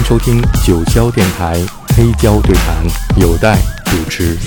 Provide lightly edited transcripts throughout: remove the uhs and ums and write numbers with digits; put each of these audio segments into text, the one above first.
收听九霄电台黑胶对谈，有待主持。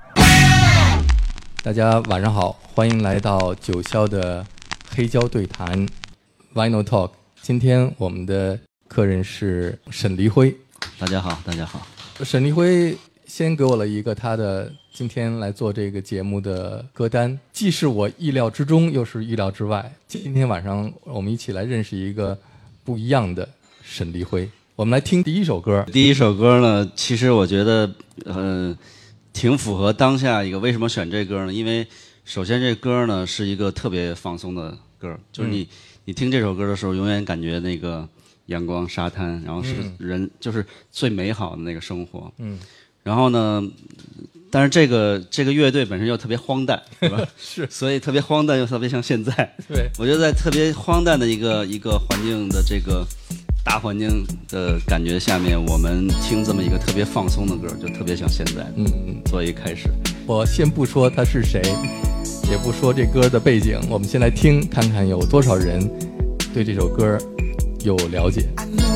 大家晚上好，欢迎来到九霄的黑胶对谈 Vinyl Talk。今天我们的客人是沈黎辉。 大家好，大家好。 沈黎辉先给我了一个他的今天来做这个节目的歌单，既是我意料之中，又是意料之外。今天晚上我们一起来认识一个不一样的沈黎辉。我们来听第一首歌。 第一首歌呢，其实我觉得挺符合当下一个。为什么选这歌呢？因为首先这歌呢是一个特别放松的歌，就是你听这首歌的时候，永远感觉那个阳光、沙滩，然后是人，就是最美好的那个生活。然后呢，但是这个乐队本身又特别荒诞，对吧？ 是， 所以特别荒诞又特别像现在。 对， 我觉得在特别荒诞的一个环境的这个大环境的感觉下面，我们听这么一个特别放松的歌，就特别像现在。作为一开始， 我先不说他是谁，也不说这歌的背景，我们先来听，看看有多少人对这首歌有了解。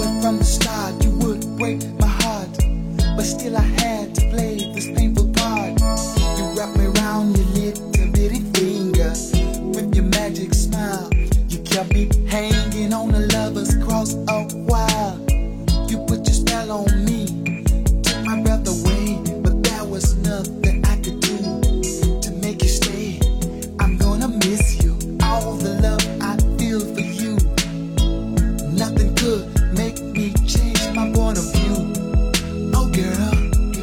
But still I had to play this painful part. You wrap me around your little bitty finger with your magic smile. You kept me hanging on the lover's cross a while. You put your spell on me, took my breath away, but there was nothing I could do to make you stay. I'm gonna miss you, all the love I feel for you. Nothing could make me change my point of view.Girl,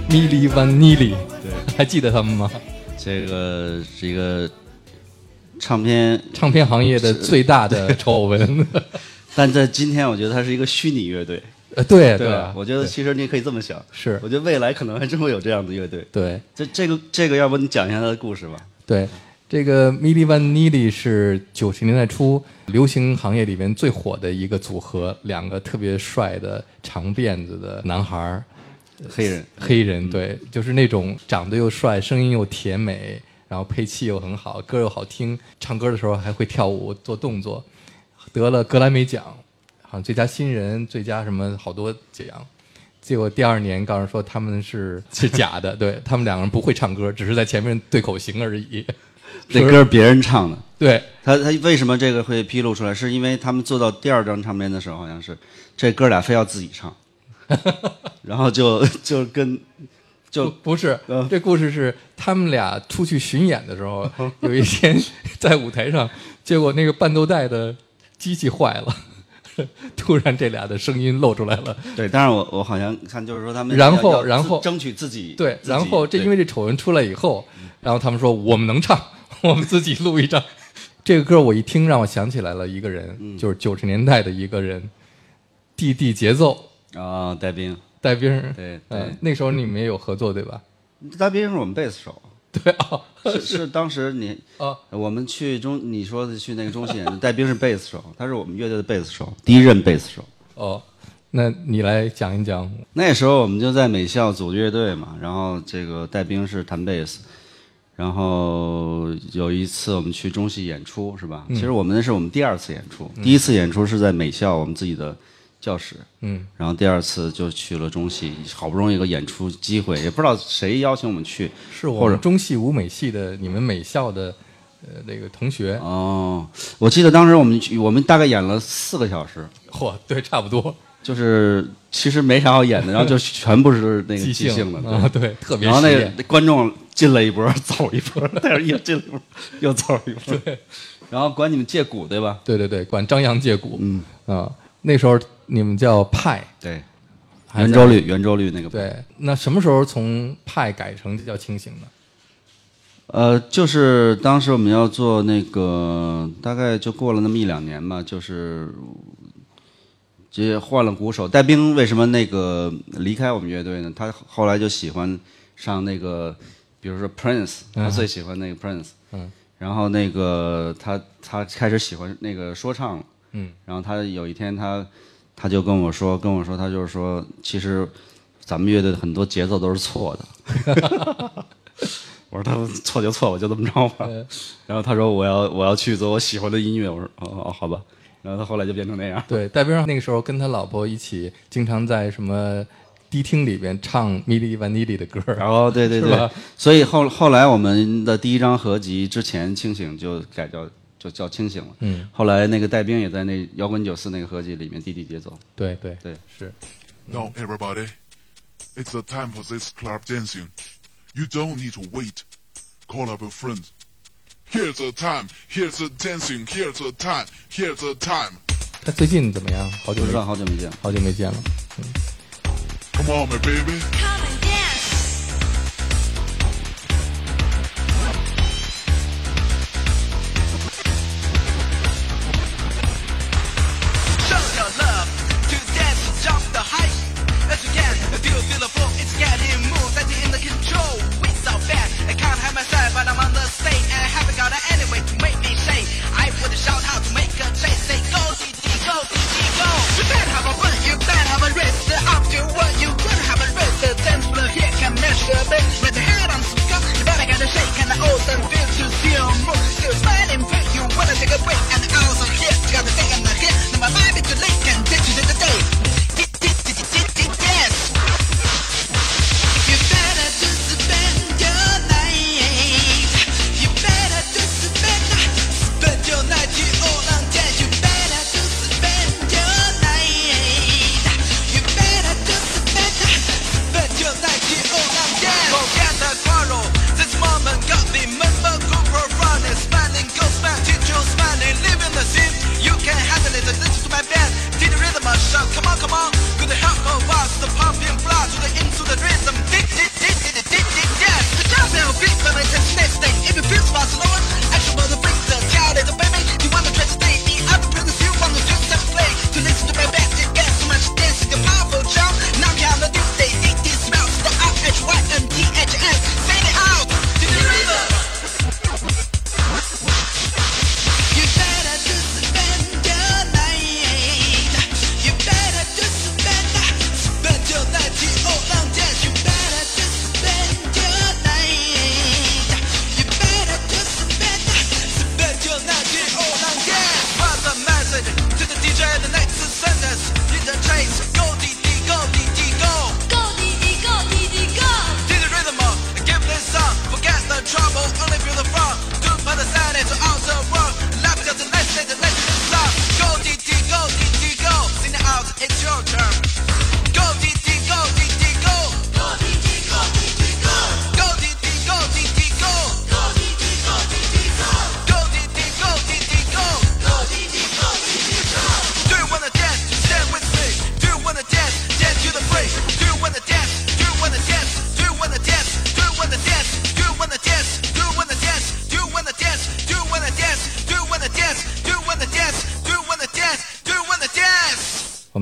Milli Vanilli， 对，还记得他们吗？ 这个是一个唱片行业的最大的丑闻。 但在今天，我觉得它是一个虚拟乐队。 对对吧？我觉得其实你可以这么想， 是， 我觉得未来可能还真会有这样的乐队。 对， 这个，要不你讲一下他的故事吧？ 对，这个 Milli Vanilli 是90年代初流行行业里面最火的一个组合，两个特别帅的长辫子的男孩，黑人，对，就是那种长得又帅，声音又甜美，然后配器又很好，歌又好听，唱歌的时候还会跳舞做动作，得了格莱美奖。好像最佳新人、最佳什么好多奖，结果第2年告诉说他们是假的，对，他们2个人不会唱歌，只是在前面对口型而已。 这歌别人唱的， 对， 他为什么这个会披露出来？是因为他们做到第2张唱片的时候，好像是这哥俩非要自己唱，然后就不是，这故事是他们俩出去巡演的时候，有一天在舞台上，结果那个伴奏带的机器坏了。突然这俩的声音露出来了。 对，当然我好像看就是说他们然后争取自己对，然后因为这丑闻出来以后，然后他们说我们能唱，我们自己录一张。这个歌我一听让我想起来了一个人，就是90年代的一个人，地节奏啊，戴兵， 对，那时候你们也有合作对吧？ 戴兵是我们贝斯手。 对啊， 是当时我们去你说的去那个中戏，戴兵是贝斯手，他是我们乐队的贝斯手，第1任贝斯手。 哦，那你来讲一讲。 那时候我们就在美校组乐队嘛，然后这个戴兵是弹贝斯，然后有一次我们去中戏演出是吧？其实那是我们第2次演出，第1次演出是在美校我们自己的教室，然后第2次就去了中戏，好不容易有个演出机会，也不知道谁邀请我们去， 是我们中戏舞美系的你们美校的那个同学。 哦，我记得当时我们大概演了4个小时， 嚯，对，差不多， 就是其实没啥好演的，然后就全部是那个即兴的， 对，特别。 然后那个观众进了一波，走一波，但是又进了一波，又走一波， 对。 然后管你们借鼓对吧？ 对，管张扬借鼓，那时候你们叫派， 对，圆周率那个。 对，那什么时候从派改成叫清醒呢？ 就是当时我们要做那个，大概就过了那么1-2年吧，就是这换了鼓手。戴兵为什么那个离开我们乐队呢？他后来就喜欢上那个，比如说 Prince， 他最喜欢那个 Prince，然后那个他开始喜欢那个说唱了。然后他有一天他就跟我说，他就是说，其实咱们乐队的很多节奏都是错的。我说他错就错，我就这么着吧。然后他说我要去做我喜欢的音乐。我说哦好吧。然后他后来就变成那样。 对，戴兵那个时候跟他老婆一起，经常在什么迪厅里边唱Milli Vanilli的歌。 哦，对，所以后来我们的第1张合集之前清醒就改叫清醒了。后来那个戴兵也在那摇滚94那个合集里面地节奏。 对， 是。 Now everybody, it's the time for this club dancing. You don't need to wait. Call up your friends. Here's the time. Here's the dancing. Here's the time. Here's the time. 他最近怎么样？好久没见了。 Come on, my baby. Come and dance. Show your love to dance, jump the height as you can. Do you feel the flow? It's getting moved, that you're in the control. We so bad, I can't help myself, but I'm on the stage and I haven't got any way to make me say. I would shout out to make a chase, say go, DD, go, DD, go. You can't have a run, you can't have a race. Up to what you could have a race.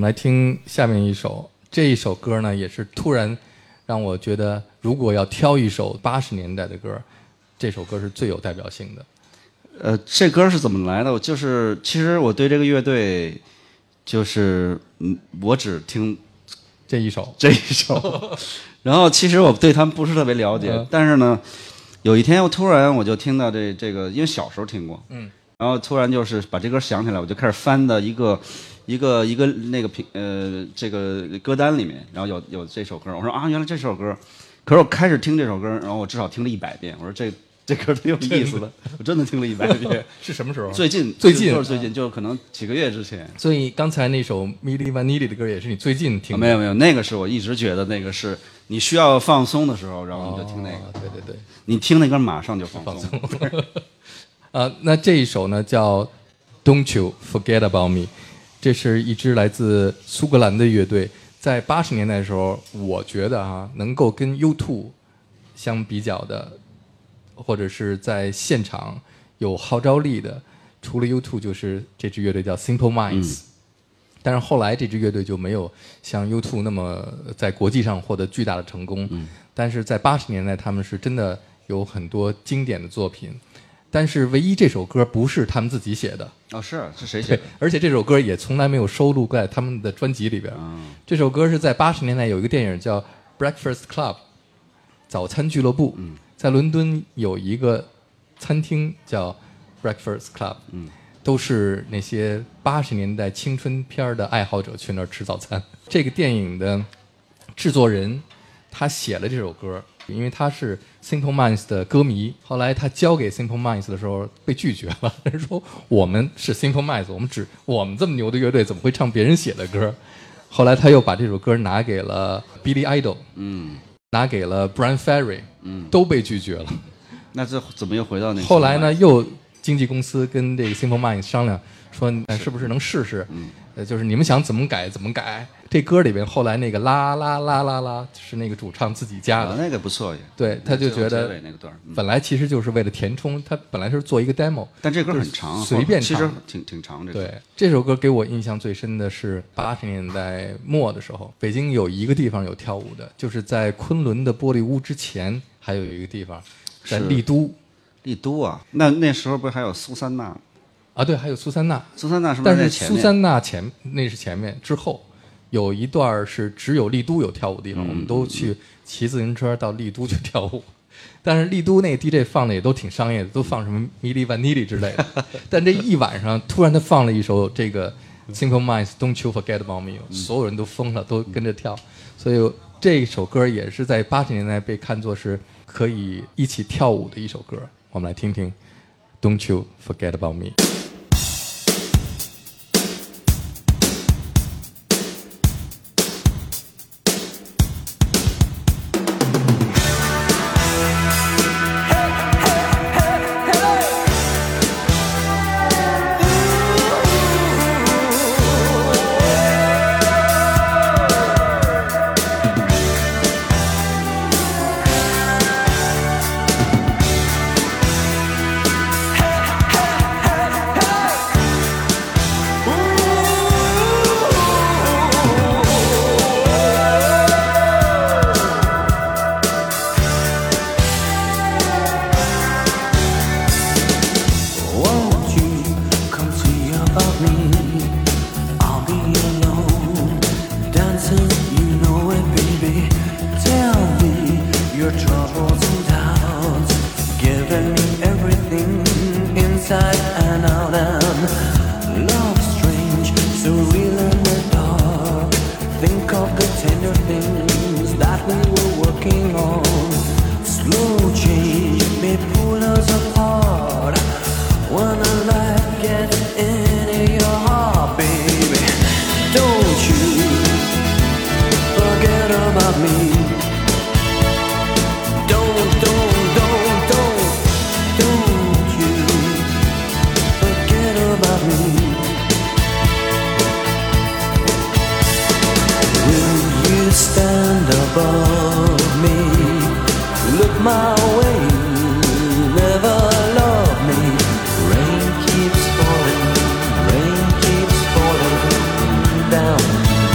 们来听下面一首，这一首歌呢也是突然让我觉得，如果要挑一首80年代的歌，这首歌是最有代表性的。 这歌是怎么来的？就是其实我对这个乐队，就是我只听这一首， 然后其实我对他们不是特别了解，但是呢，有一天我突然就听到这个，因为小时候听过，然后突然就是把这歌想起来，我就开始翻的一个那个这个歌单里面，然后有这首歌，我说啊，原来这首歌，可是我开始听这首歌，然后我至少听了100遍，我说这歌挺有意思的，我真的听了100遍。 是什么时候？ 最近就是最近，就可能几个月之前。 所以刚才那首 Milli Vanilli 的歌也是你最近听的？ 没有，那个是我一直觉得那个是你需要放松的时候，然后你就听那个。 对， 你听那歌马上就放松。 那这一首呢叫 Don't You Forget About Me， 这是一支来自苏格兰的乐队，在80年代的时候，我觉得能够跟 U2 相比较的，或者是在现场有号召力的，除了 U2 就是这支乐队叫 Simple Minds。但是后来这支乐队就没有像 U2 那么在国际上获得巨大的成功。但是在80年代他们是真的有很多经典的作品。但是唯一这首歌不是他们自己写的。 是谁写的？ 而且这首歌也从来没有收录在他们的专辑里边。这首歌是在80年代有一个电影叫 Breakfast Club 早餐俱乐部。在伦敦有一个餐厅叫 Breakfast Club。都是那些80年代青春片的爱好者去那儿吃早餐。这个电影的制作人他写了这首歌，因为他是 Simple Minds 的歌迷，后来他交给 Simple Minds 的时候被拒绝了，人说我们是 Simple Minds， 我们这么牛的乐队怎么会唱别人写的歌？后来他又把这首歌拿给了 Billy Idol， 拿给了 Brian Ferry， 都被拒绝了。 那这怎么又回到那个？ 后来呢，又经纪公司跟这个 Simple Minds 商量，说是不是能试试？就是你们想怎么改怎么改。这歌里边后来那个啦啦啦啦啦是那个主唱自己加的， 那个不错也。 对，他就觉得本来其实就是为了填充，他本来是做一个 demo， 但这歌很长， 随便唱， 其实挺长。 对，这首歌给我印象最深的是80年代末的时候，北京有一个地方有跳舞的，就是在昆仑的玻璃屋之前还有一个地方，在丽都。 丽都啊，那时候不是还有苏珊娜啊？对，还有苏珊娜。 苏珊娜是不是在前面？ 但是苏珊娜那是前面，之后有一段是只有丽都有跳舞的地方，我们都去骑自行车到丽都去跳舞。但是丽都那个 DJ 放的也都挺商业的，都放什么米莉万妮莉之类的。但这一晚上突然他放了一首这个 Simple Minds Don't You Forget About Me， 所有人都疯了，都跟着跳。所以这首歌也是在80年代被看作是可以一起跳舞的一首歌。我们来听听 Don't You Forget About Me。 Rain keeps falling down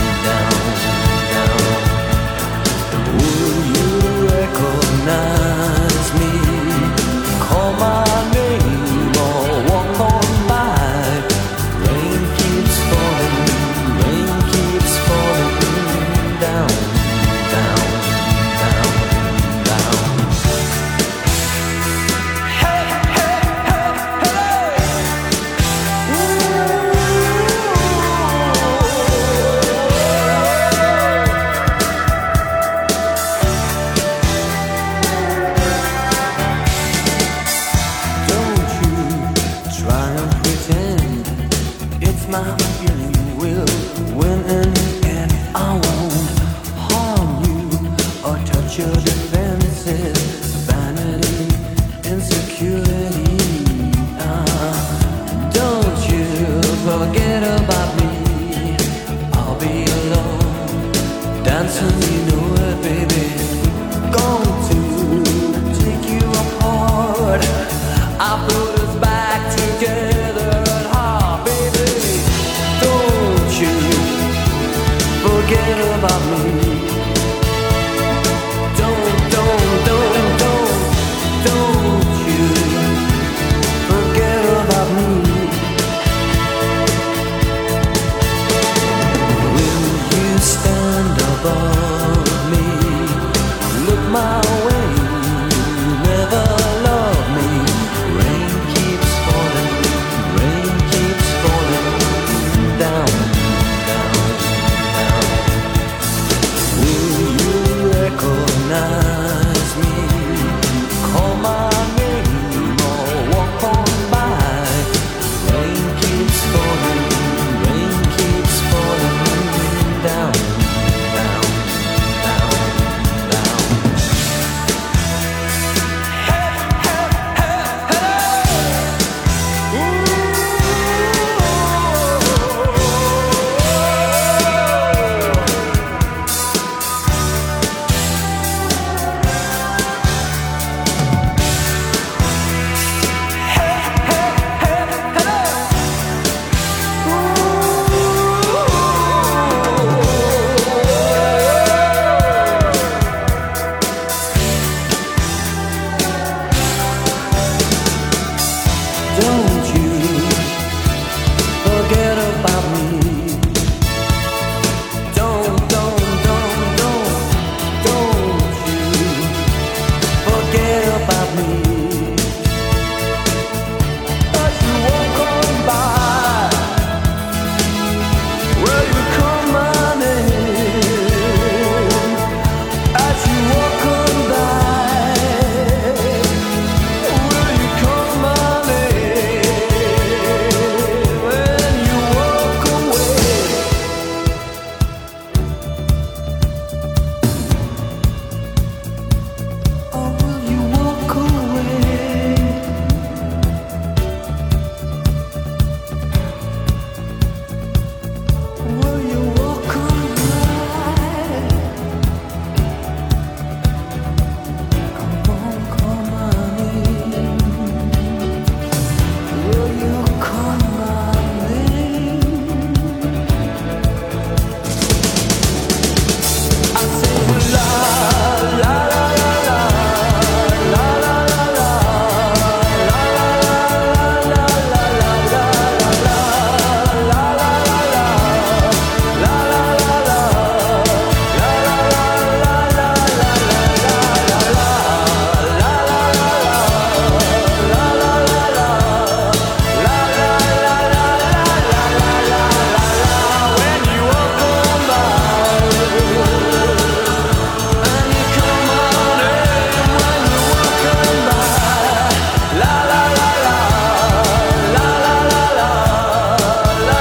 your defenses, vanity, insecurity. Don't you forget about me. I'll be alone, dancing, you know it, baby. Going to take you apart. I put us back together at heart, baby. Don't you forget about me. Don't you forget about me. Will you stand above me? Look my way, never love me. Rain keeps falling down, down, down. Will you recognize me? Call my name or walk on by. Rain keeps falling down, down, down, down. Don't you forget about me. Don't you forget about me. As you walk on by, will you call my name? As you walk on by, will you call my name? When you walk away, or will you walk away? Will you walk away? Come on, call my name. Will you call my name? I say la la la la la la la la when you walk on by, and you call my name when you walk on by, la la la la la la la la la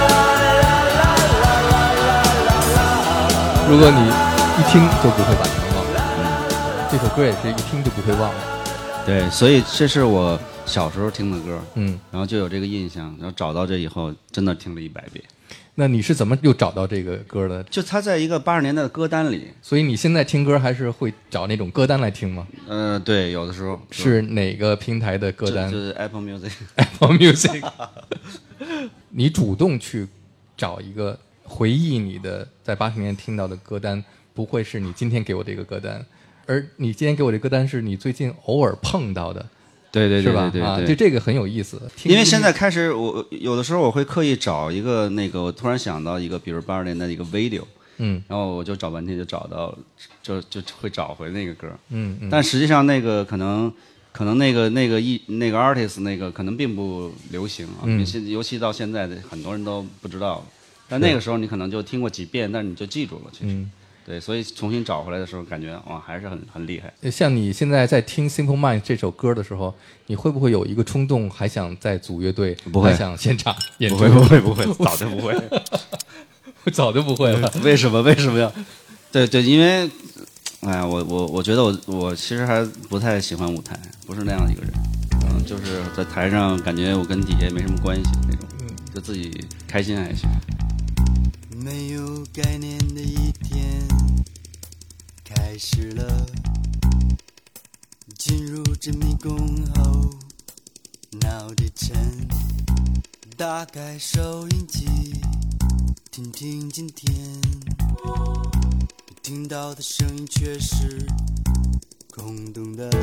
la 如果你一听就不会把它忘了，这首歌也是一听就不会忘了。 对，所以这是我小时候听的歌， 嗯， 然后就有这个印象，然后找到这以后，真的听了100遍。 那你是怎么又找到这个歌的？ 就他在一个80年代的歌单里， 所以你现在听歌还是会找那种歌单来听吗？ 对，有的时候是哪个平台的歌单就是 Apple Music。 ？Apple Music。你主动去找一个回忆你的在80年听到的歌单，不会是你今天给我这个歌单，而你今天给我这歌单是你最近偶尔碰到的， 对对是吧？啊， 对对对， 就这个很有意思。听因为现在开始，我有的时候我会刻意找一个那个，我突然想到一个，比如80年代的一个 video，然后我就找半天就找到了，就会找回那个歌，但实际上那个可能那个 artist 那个可能并不流行啊，尤其到现在的很多人都不知道了，但那个时候你可能就听过几遍，但是你就记住了，其实。对，所以重新找回来的时候，感觉哇，还是很厉害。 像你现在在听《Simple Minds》这首歌的时候，你会不会有一个冲动，还想再组乐队， 不会还想现场演出？ 不会，早就不会， 早就不会了。 为什么呀？对，因为哎呀，我觉得我其实还不太喜欢舞台，不是那样一个人，就是在台上感觉我跟底下没什么关系那种，就自己开心还行。 没有概念的一天开始了，进入这迷宫后脑袋沉，打开收音机听听今天，听到的声音却是空洞的。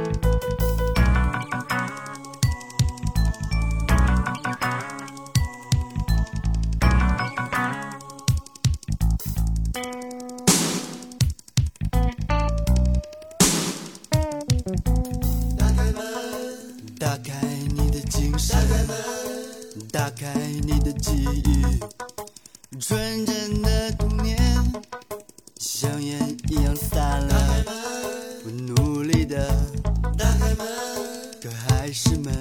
打开你的精神，打开你的记忆，纯真的童年像烟一样散了，我努力的打开门，可还是闷。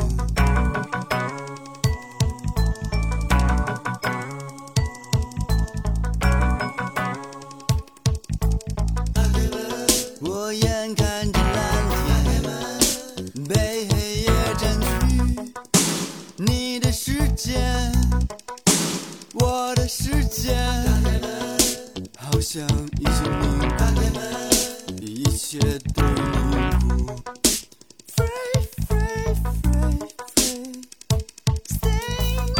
我眼看着蓝天被黑夜占据，你的世界，我的世界，好像已经明白，一切都凝固。Free, free, free, free, sing.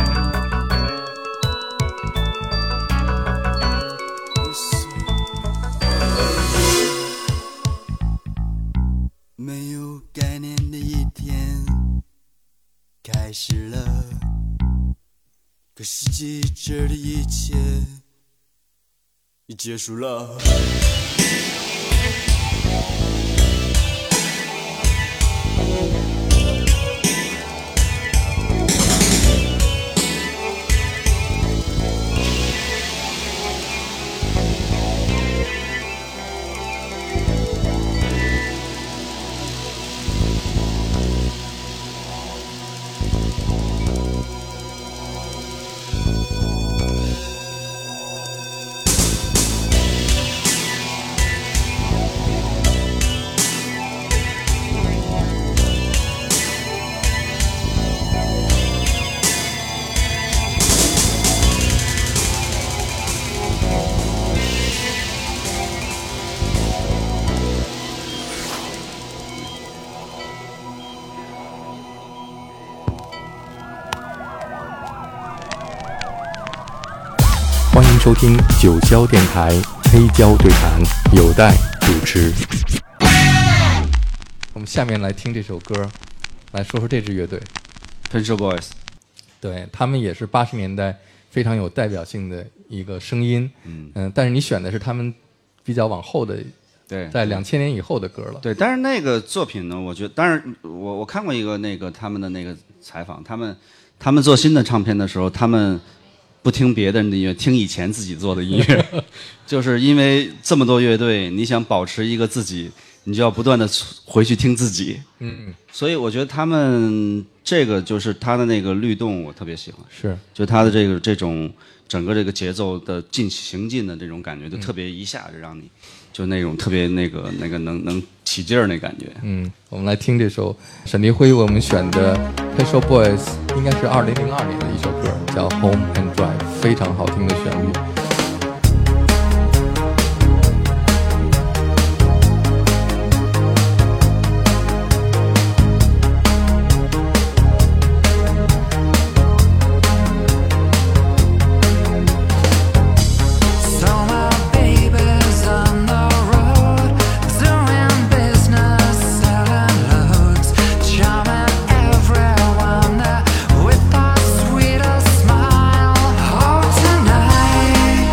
没有概念的一天开始了，可是记着的一切已结束了。 欢迎收听九霄电台黑胶对谈，有待主持。我们下面来听这首歌，来说说这支乐队。 Pet Shop Boys， 对，他们也是80年代非常有代表性的一个声音。但是你选的是他们比较往后的， 对， 在2000年以后的歌了。 对，但是那个作品呢，我觉得，当然我看过一个他们的那个采访，他们做新的唱片的时候，他们不听别的人的音乐，听以前自己做的音乐，就是因为这么多乐队，你想保持一个自己，你就要不断的回去听自己。所以我觉得他们这个就是他的那个律动，我特别喜欢。 是， 就他的这种整个这个节奏的行进的这种感觉，就特别一下就让你就那种特别那个能起劲儿那感觉。 我们来听这首沈黎辉为我们选的 Pet Shop Boys， 应该是2002年的一首歌，叫 Home and Drive， 非常好听的旋律。 With a sweeter smile, oh tonight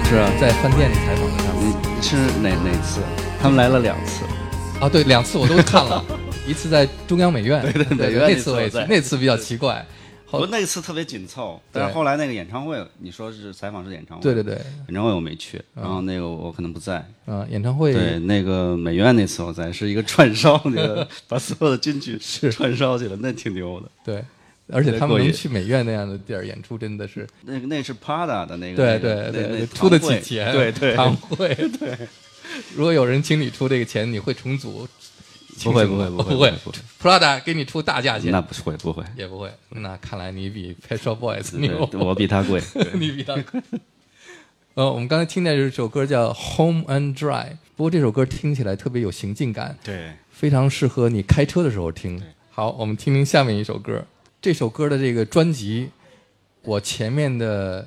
是啊， 在饭店里采访的他们。 你是哪次？他们来了2次。 啊，对，2次我都看了，一次在中央美院， 对美院那次我也去， 在那次比较奇怪。 不过那次特别紧凑，但是后来那个演唱会，你说是采访是演唱会？ 对对对， 演唱会我没去，然后那个我可能不在。 演唱会对，那个美院那次我在，是一个串烧，那个把所有的金曲串烧去了，那挺牛的。 对，而且他们能去美院那样的地儿演出，真的是那是 Prada 的那个， 对，出得起钱， 对， 堂会对。如果有人请你出这个钱，你会重组？ 不会 ，Prada 给你出大价钱， 那不会， 也不会。那看来你比 Pet Shop Boys 牛， 我比他贵， 你比他贵。我们刚才听的这首歌叫《Home and Dry》，不过这首歌听起来特别有行进感， 对， 非常适合你开车的时候听。好，我们听听下面一首歌。这首歌的这个专辑，我前面的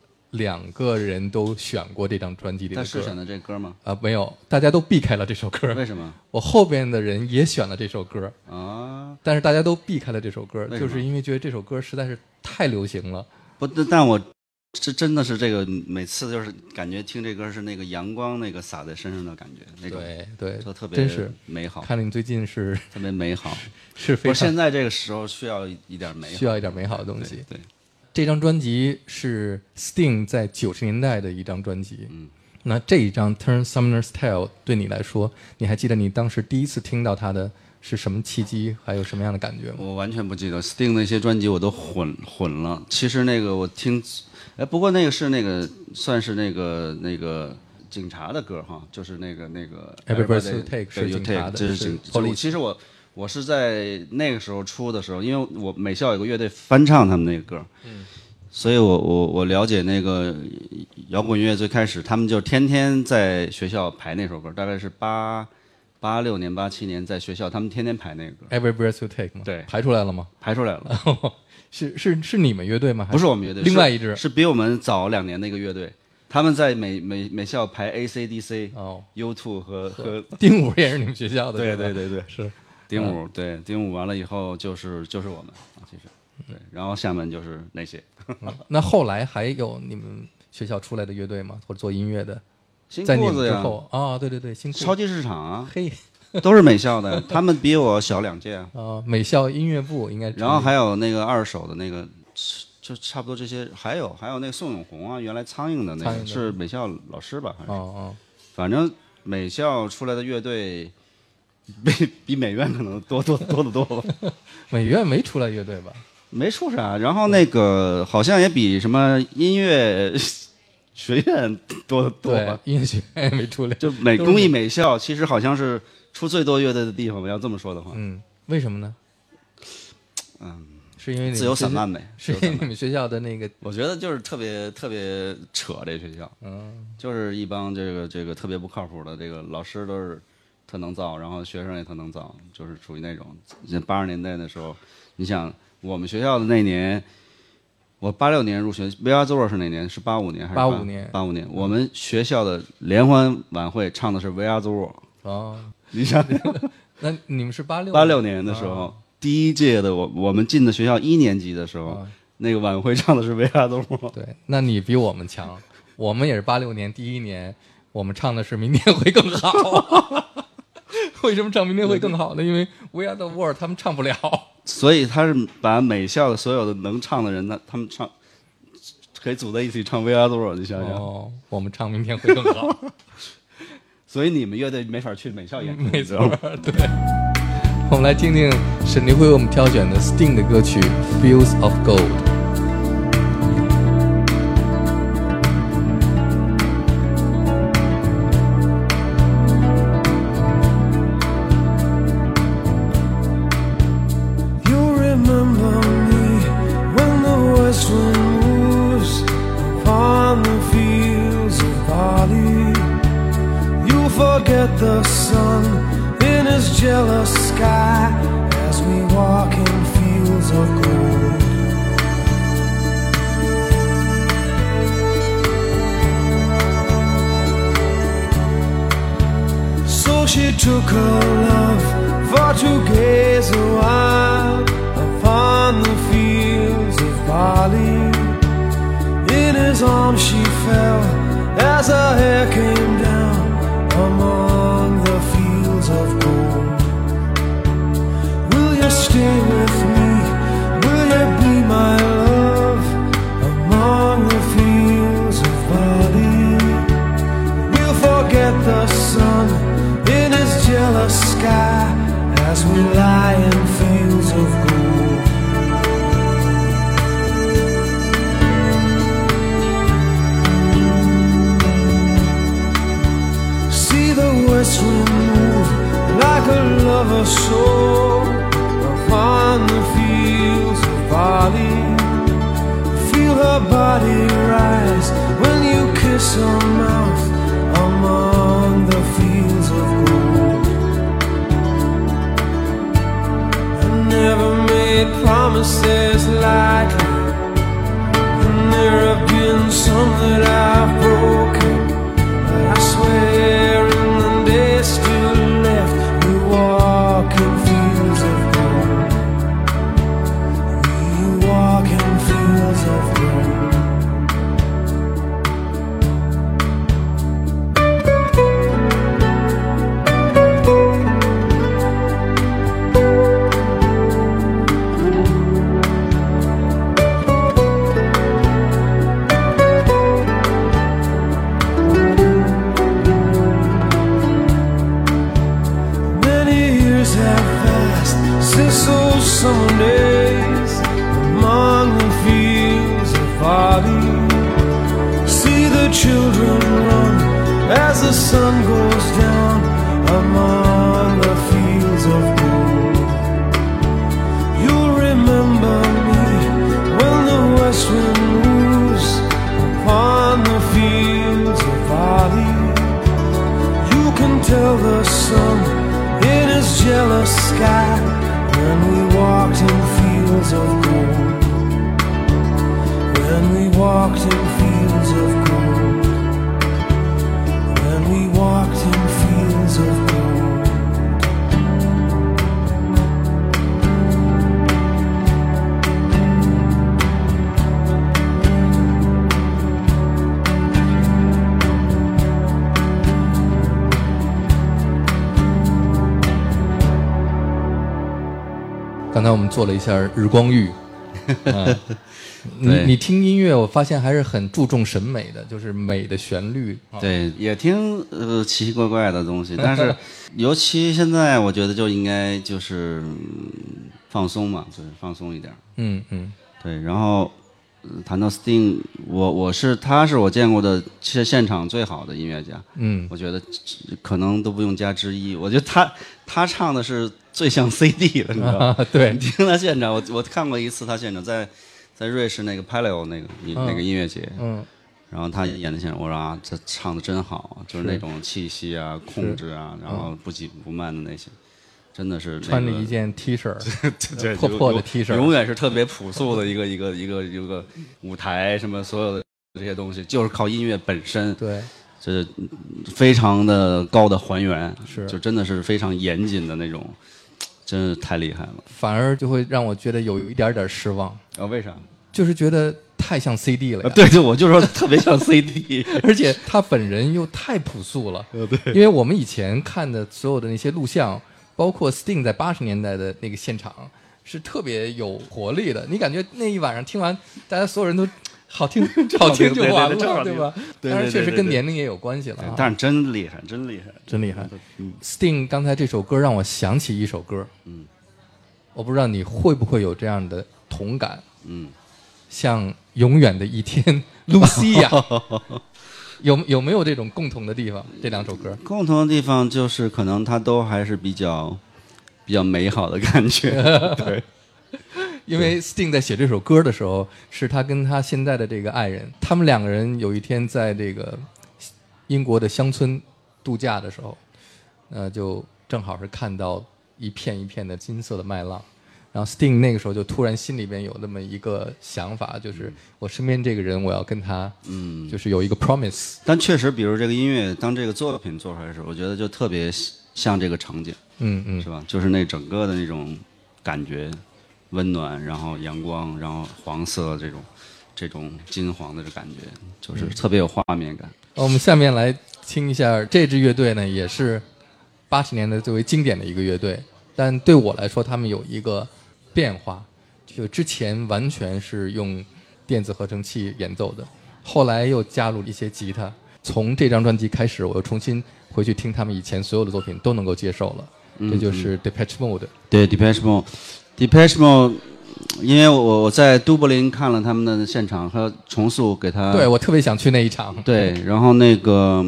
2个人都选过这张专辑里的歌。 他是选的这歌吗？ 没有，大家都避开了这首歌。 为什么？ 我后边的人也选了这首歌啊， 但是大家都避开了这首歌， 为什么就是因为觉得这首歌实在是太流行了。 不，但我这真的是这个，每次就是感觉听这歌是那个阳光那个洒在身上的感觉，那种对， 就特别真是美好。 看着你最近是特别美好， 是非常现在这个时候需要一点美好， 需要一点美好的东西。 对， 这张专辑是 Sting 在90年代的一张专辑。那这一张 Turn Sumner Style 对你来说，你还记得你当时第一次听到它的是什么契机，还有什么样的感觉吗？ 我完全不记得 Sting 那些专辑我都混了。其实那个我听，不过那个是那个算是那个警察的歌哈，就是那个 Every Breath You Take 是警察的， 这是警。其实我是在那个时候出的时候，因为我美校有个乐队翻唱他们那个歌，所以我了解那个摇滚乐最开始，他们就天天在学校排那首歌，大概是86年、87年在学校他们天天排那个歌。 Every Breath You Take 吗？ 对， 排出来了吗？ 排出来了。 是你们乐队吗？ 不是我们乐队， 另外一支是比我们早2年的一个乐队。他们在美校排 AC/DC、U2 和丁武也是你们学校的。 对， 是丁武。对，丁武完了以后就是我们其实对，然后下面就是那些。 那后来还有你们学校出来的乐队吗？或者做音乐的？ 新在你们裤子呀， 之后啊，对，新裤子超级市场啊， 嘿， 都是美校的，他们比我小2届啊。 美校音乐部应该。 然后还有那个二手的那个，就差不多这些，还有那个宋永红啊，原来苍蝇的那个是美校老师吧？还是反正美校出来的乐队比美院可能多得多吧。 美院没出来乐队吧？ 没出啥，然后那个好像也比什么音乐学院多吧？ 音乐学院也没出来， 就工艺美校其实好像是出最多乐队的地方。要这么说的话， 为什么呢？是因为自由散漫呗， 是因为你们学校的那个， 我觉得就是特别扯这学校，就是一帮这个特别不靠谱的，这个老师都是特能造，然后学生也特能造，就是属于那种80年代的时候，你想我们学校的那年，我86年入学 ，We Are the World 是哪年？是85年还是 85年 ？85年，我们学校的联欢晚会唱的是 We Are the World。你想， 那你们是 86年的时候。第一届的我们进的学校1年级的时候，那个晚会唱的是《维亚多姆》。 对，那你比我们强。我们也是86年第一年，我们唱的是《明天会更好》。为什么唱《明天会更好》呢？因为《We Are the World》他们唱不了， 所以他是把美校的所有的能唱的人，他们唱可以组在一起唱《We Are the World》，你想想。 我们唱《明天会更好》。 所以你们乐队没法去美校演出， 没错，对。我们来听听沈黎辉为我们挑选的 Sting 的歌曲《Fields of Gold》。 The sun in his jealous sky as we walk in fields of gold. So she took her love for to gaze a while upon the fields of barley. In his arms she fell as our hair came down among the fields of gold. Will you stay with me? Will you be my love among the fields of barley? We'll forget the sun in his jealous sky as we lie in fields of gold. See the west wind move like a lover's soul upon the fields of barley. Feel her body rise when you kiss her mouth among the fields of gold. I never made promises lightly, and there have been some that I've broken, but I swear in the days still left we walk in fields of gold. We walk in fields of gold. Many years have passed since those summer days among the fields of barley. See the children run as the sun goes down among the fields of gold. You'll remember me when the west wind moves upon the fields of barley. You can tell the sun in his jealous sky when we walked in fields of gold. When we walked in fields of gold. When we walked in fields of gold. 刚才我们做了一下日光浴， 对你听音乐，我发现还是很注重审美的，就是美的旋律。 对，也听奇奇怪怪的东西，但是尤其现在我觉得就应该就是放松嘛，就是放松一点。 嗯嗯， 对，然后谈到 Sting， 他是我见过的是现场最好的音乐家。 嗯， 我觉得可能都不用加之一。我觉得他唱的是最像 CD 的，你知道吗？ 对你听他现场，我看过一次他现场在瑞士那个 Paleo 那个音乐节。 嗯。 然后他演的现场，我说啊，这唱的真好，就是那种气息啊、控制啊，然后不紧不慢的那些，真的是穿着一件 T 恤， 对破破的 T 恤， 永远是特别朴素的一个舞台，什么所有的这些东西，就是靠音乐本身， 对， 这非常的高的还原， 是就真的是非常严谨的那种，真是太厉害了。 反而就会让我觉得有一点点失望。 为啥？ 就是觉得太像 CD 了呀。 对对，我就说特别像 CD， 而且他本人又太朴素了。对，因为我们以前看的所有的那些录像，包括 Sting 在80年代的那个现场，是特别有活力的。你感觉那一晚上听完，大家所有人都好听好听就完了，对吧？当然，确实跟年龄也有关系了啊。 但是真厉害，真厉害， 真厉害。Sting 刚才这首歌让我想起一首歌，我不知道你会不会有这样的同感，像永远的一天，露西亚，有没有这种共同的地方？这两首歌共同的地方就是可能它都还是比较美好的感觉，对。 因为 Sting 在写这首歌的时候，是他跟他现在的这个爱人，他们两个人有一天在这个英国的乡村度假的时候，就正好是看到一片一片的金色的麦浪。然后 Sting 那个时候就突然心里边有那么一个想法，就是我身边这个人，我要跟他，就是有一个 promise。 但确实，比如这个音乐，当这个作品做出来的时候，我觉得就特别像这个场景，是吧？就是那整个的那种感觉，温暖，然后阳光，然后黄色这种， 这种金黄的感觉，就是特别有画面感。 我们下面来听一下这支乐队呢，也是80年代最为经典的一个乐队，但对我来说，他们有一个变化，就之前完全是用电子合成器演奏的，后来又加入了一些吉他。从这张专辑开始，我又重新回去听他们以前所有的作品，都能够接受了。这就是 Depeche Mode。 对 Depeche Mode，因为我在都柏林看了他们的现场和重塑给他。 对，我特别想去那一场。 对，然后那个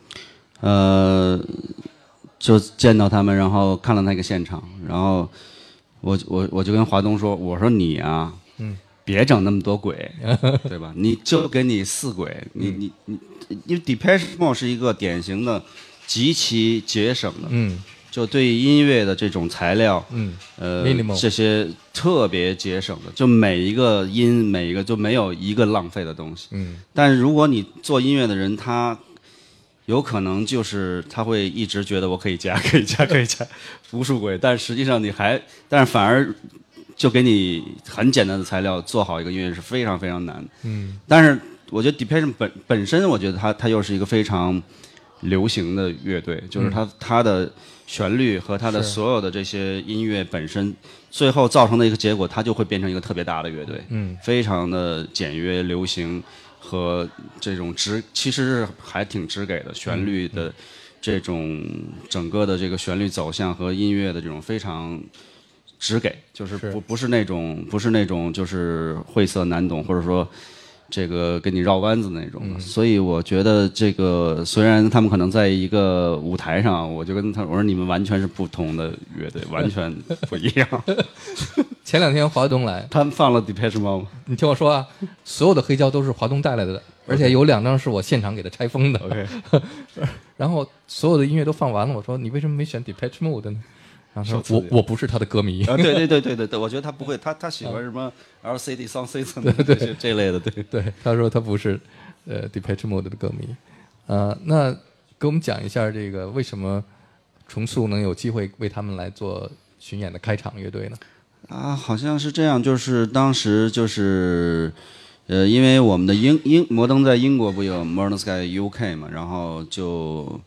就见到他们，然后看了那个现场，然后我就跟华东说，我说你啊，别整那么多轨，对吧？你就给你4轨，你因为 Depeche Mode 是一个典型的极其节省的，就对于音乐的这种材料， Minimal 这些特别节省的，就每一个音每一个就没有一个浪费的东西，但是如果你做音乐的人，他有可能就是他会一直觉得我可以加无数轨，但实际上但是反而就给你很简单的材料做好一个音乐是非常非常难的。但是我觉得 Depeche 本身，我觉得它又是一个非常流行的乐队，就是它的旋律和它的所有的这些音乐本身，最后造成的一个结果，它就会变成一个特别大的乐队，非常的简约流行和这种其实是还挺直给的旋律的这种整个的这个旋律走向和音乐的这种非常直给，就是不是那种就是晦涩难懂，或者说这个给你绕弯子那种的。所以我觉得这个虽然他们可能在一个舞台上，我就跟我说你们完全是不同的乐队，完全不一样。 前2天华东来， 他们放了 Depeche Mode， 你听我说啊，所有的黑胶都是华东带来的，而且有2张是我现场给他拆封的。 OK， 然后所有的音乐都放完了，我说你为什么没选 Depeche Mode 呢？然后说我不是他的歌迷。 对，我觉得他不会，他喜欢什么 LCD Sound System 这类的，对， 他说他不是Depeche Mode 的歌迷。那给我们讲一下这个为什么重塑能有机会为他们来做巡演的开场乐队呢？ 好像是这样，就是当时就是因为我们的摩登在英国不有 Modern Sky UK 嘛，然后就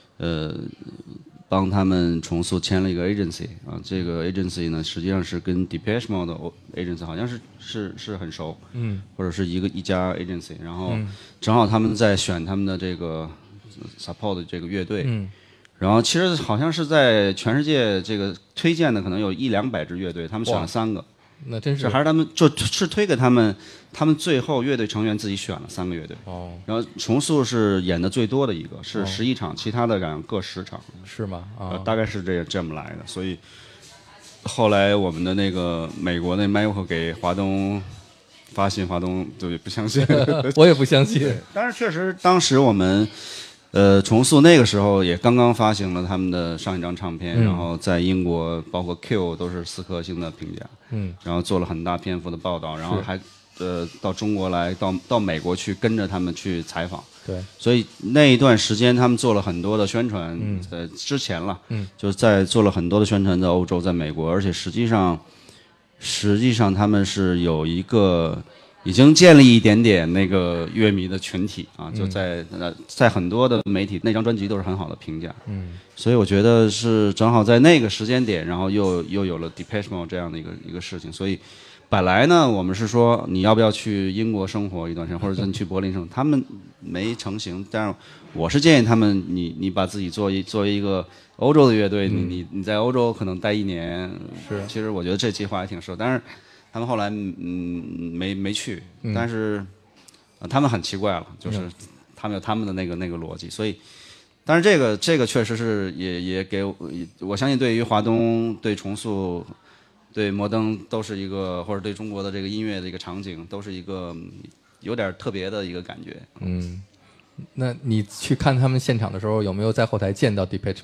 帮他们重塑签了一个 agency 啊，这个 agency 呢实际上是跟 Depeche Mode 的 agency 好像是很熟，或者是一家 agency， 然后正好他们在选他们的这个 support 的这个乐队，然后其实好像是在全世界这个推荐的可能有100-200支乐队，他们选了3个。 那真是还是他们就是推给他们最后乐队成员自己选了3个乐队。然后重塑是演的最多的一个，是11场，其他的各10场。 是吗？ 大概是这么来的。所以后来我们的那个美国那 Michael 给华东发信，华东对不相信， 我也不相信。 但是确实当时我们。重塑那个时候也刚刚发行了他们的上一张唱片，然后在英国包括 Q 都是4颗星的评价，然后做了很大篇幅的报道，然后还到中国来，到美国去跟着他们去采访， 对， 所以那一段时间他们做了很多的宣传，之前了，就是在做了很多的宣传在欧洲，在美国，而且实际上他们是有一个。已经建立一点点那个乐迷的群体啊，就在很多的媒体那张专辑都是很好的评价，所以我觉得是正好在那个时间点，然后又有了 Depeche Mode 这样的一个事情，所以本来呢我们是说你要不要去英国生活一段时间，或者是你去柏林生活，他们没成型，但是我是建议他们你把自己作为一个欧洲的乐队，你在欧洲可能待1年，其实我觉得这计划还挺适合，但是。他们后来没去，但是他们很奇怪了，就是他们有他们的那个逻辑，所以，但是这个确实是也给我相信对于华东对重塑对摩登都是一个，或者对中国的这个音乐的一个场景都是一个有点特别的一个感觉。 那你去看他们现场的时候，有没有在后台见到 Depeche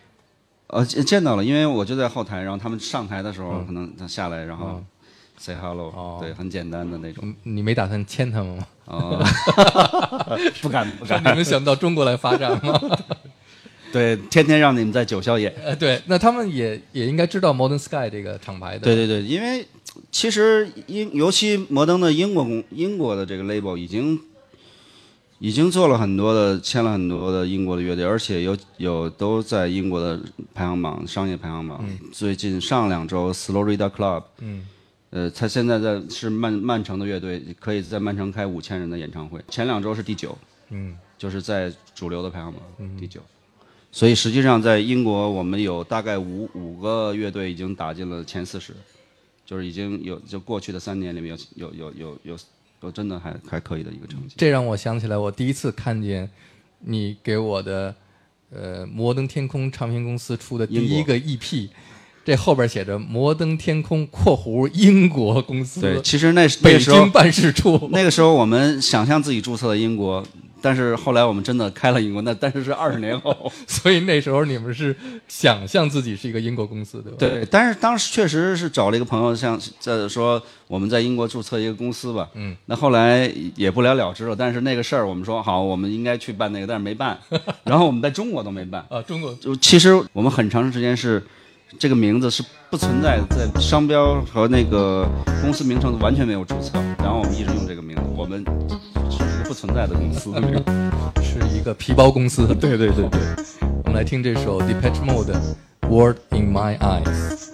Mode？ 见到了，因为我就在后台，然后他们上台的时候，可能他下来，然后。Say hello，对，很简单的那种。 你没打算签他们吗？ 不敢。 你们想到中国来发展吗？ 对，天天让你们在9霄演。 对，那他们也应该知道 Modern Sky 这个厂牌的。 对，因为其实尤其摩登的英国的这个 label 已经做了很多的，签了很多的英国的乐队，而且有都在英国的排行榜、商业排行榜。最近上2周 Florida Club， 他现在是曼城的乐队，可以在曼城开5000人的演唱会。前2周是第9，就是在主流的排行榜第9。所以实际上在英国，我们有大概五个乐队已经打进了前40，就是已经就过去的3年里面有真的还可以的一个成绩。 这让我想起来，我第一次看见你给我的摩登天空唱片公司出的第一个 EP， 这后边写着摩登天空（括弧英国公司）。 对，其实那北时候京办事处。 那个时候我们想象自己注册了英国。但是后来我们真的开了英国，但是20年后， 所以那时候你们是想象自己是一个英国公司，对吧？ 对，但是当时确实是找了一个朋友，像说我们在英国注册一个公司吧，那后来也不了了之了。但是那个事儿我们说好，我们应该去办那个，但是没办。然后我们在中国都没办啊，中国就其实我们很长时间是这个名字是不存在的，在商标和那个公司名称完全没有注册，然后我们一直用这个名字，我们是一个不存在的公司， 是一个皮包公司。 对对对对， 我们来听这首 Depeche Mode 的 World in My Eyes。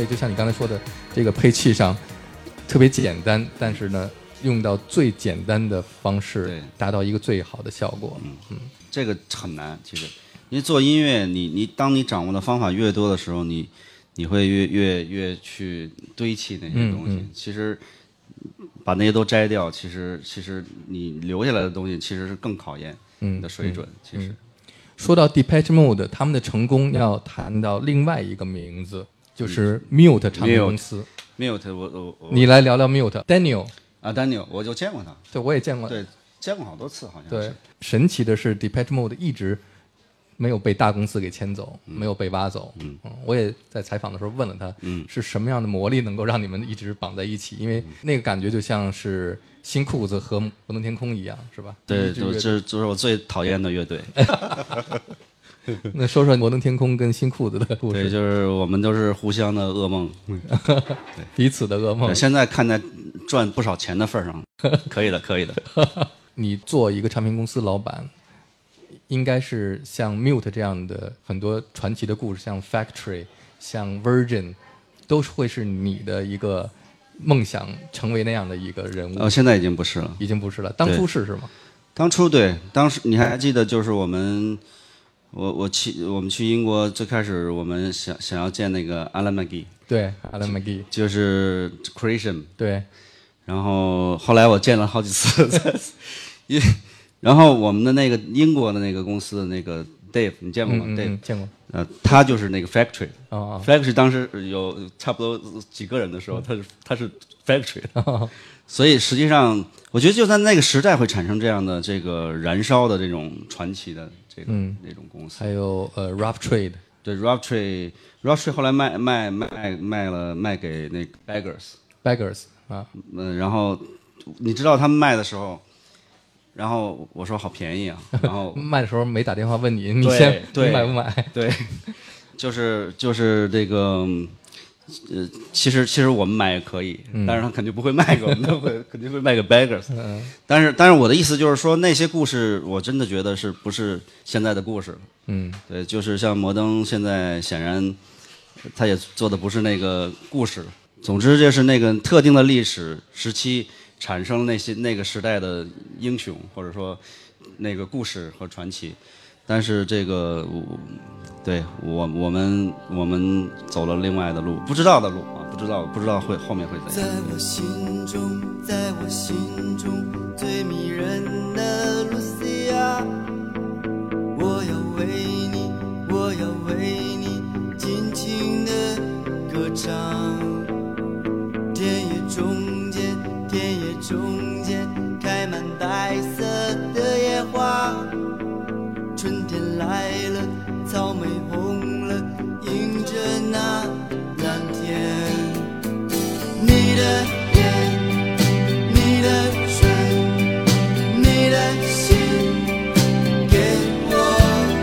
就像你刚才说的，这个配器上特别简单，但是呢，用到最简单的方式对， 达到一个最好的效果。 这个很难，其实，因为做音乐，当你掌握的方法越多的时候，你会越去堆砌那些东西。其实把那些都摘掉，其实你留下来的东西其实是更考验你的水准。其实说到 Depeche Mode， 他们的成功要谈到另外一个名字，就是 Mute 唱片公司。 Mute， 我你来聊聊 Mute。Daniel 啊 ，Daniel， 我就见过他。 对，我也见过。 对，见过好多次，好像对是。， 神奇的是 Depeche Mode 一直没有被大公司给牵走，没有被挖走。我也在采访的时候问了他，是什么样的魔力能够让你们一直绑在一起？因为那个感觉就像是新裤子和摩登天空一样，是吧？ 对， 一支乐队这就是我最讨厌的乐队。 那说说摩登天空跟新裤子的故对， 事， 就是我们都是互相的噩梦。 彼此的噩梦对。现在看在赚不少钱的份上，可以的，可以的。 你做一个唱片公司老板，应该是像 Mute 这样的很多传奇的故事，像 Factory、像 Virgin， 都会是你的一个梦想，成为那样的一个人物。 现在已经不是了。 已经不是了，当初是吗？ 当初对，当时你还记得，就是我们去英国，最开始我们想要见那个 Alan McGee， 对 ，Alan McGee， 就是 Creation， 对， 然后后来我见了好几次，然后我们的那个英国的那个公司的那个 Dave， 你见过吗？Dave 见过。 他就是那个 Factory， 哦 Factory 当时有差不多几个人的时候，他是 Factory， 所以实际上我觉得就在那个时代会产生这样的这个燃烧的这种传奇的这个那种公司。 还有Rough Trade， 对 Rough Trade 后来卖给那个 Beggars 啊， 然后你知道他们卖的时候，然后我说好便宜啊，然后卖的时候没打电话问你，你对先对你买不买？ 对，就是这个，其实我们买也可以，但是他肯定不会卖给我们，肯定会卖给 Beggars。但是我的意思就是说，那些故事我真的觉得不是现在的故事。对，就是像摩登现在显然他也做的不是那个故事。总之就是那个特定的历史时期产生了那个时代的英雄，或者说那个故事和传奇。但是这个对我们走了另外的路，不知道的路啊，不知道后面会怎样。 在我心中最迷人的露西亚，我要为你尽情的歌唱。田野中间开满白色的野花，春天来了，草莓红了，迎着那蓝天。你的眼，你的唇，你的心给我，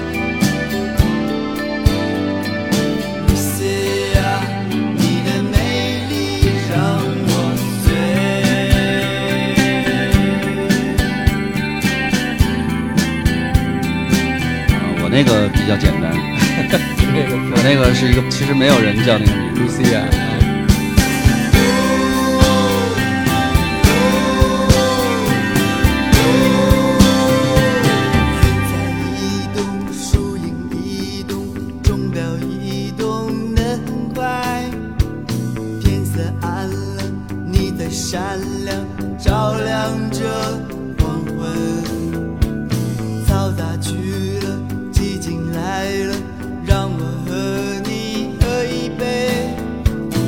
露西亚，你的美丽让我醉。 我那个比较简单，我那个是一个其实没有人叫那个名字。 露西亚。 移动，树影移动，钟表移动得很快。天色暗了，你在闪亮，照亮着黄昏。嘈杂去了，寂静来了，让我和你喝一杯。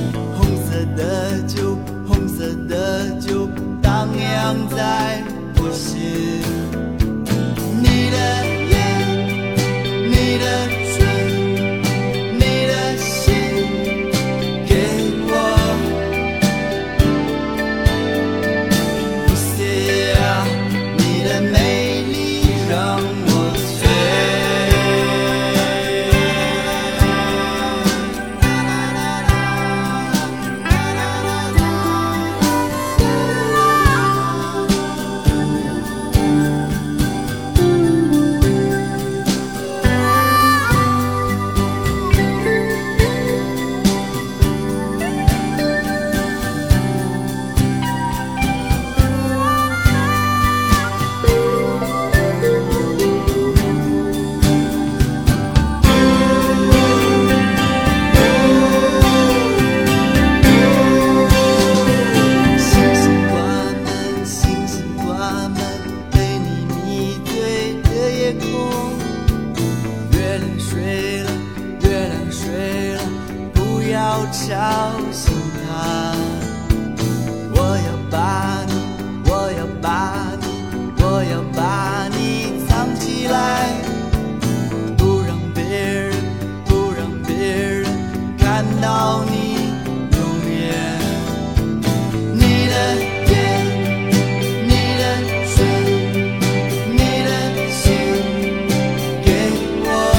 到你容颜。你的眼，你的嘴，你的心给我。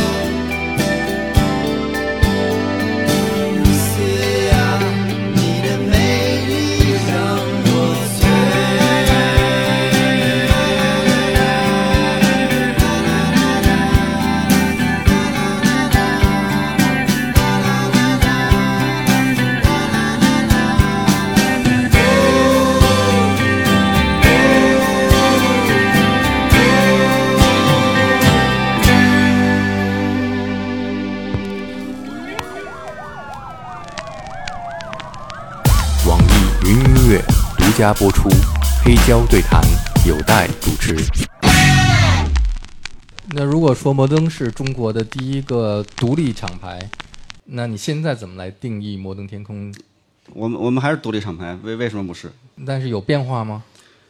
是啊，你的美丽让我网易云音乐独家播出，黑胶对谈有待主持。那如果说摩登是中国的第一个独立厂牌，那你现在怎么来定义摩登天空？ 我们还是独立厂牌，为什么不是？ 但是有变化吗？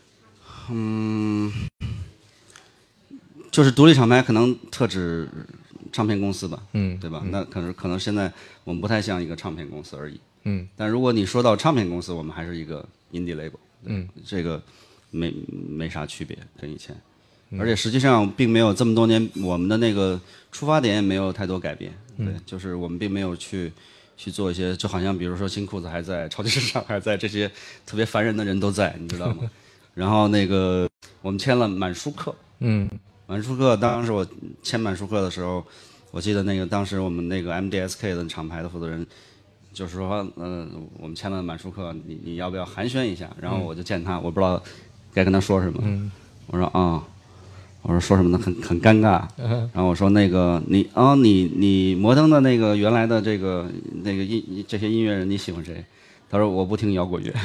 就是独立厂牌可能特指唱片公司吧，对吧？ 嗯那可能现在我们不太像一个唱片公司而已。 但如果你说到唱片公司，我们还是一个 indie label，这个没啥区别跟以前，而且实际上并没有这么多年，我们的那个出发点也没有太多改变，对，就是我们并没有去做一些，就好像比如说新裤子还在，超级市场还在，这些特别烦人的人都在，你知道吗？然后那个我们签了满舒克，满舒克，当时我签满舒克的时候，我记得那个当时我们那个 MDSK 的厂牌的负责人就是说，我们签了满舒克，你要不要寒暄一下？然后我就见他，我不知道该跟他说什么，我说我说说什么呢？很尴尬。然后我说那个你摩登的那个原来的这个这些音乐人你喜欢谁？他说我不听摇滚乐。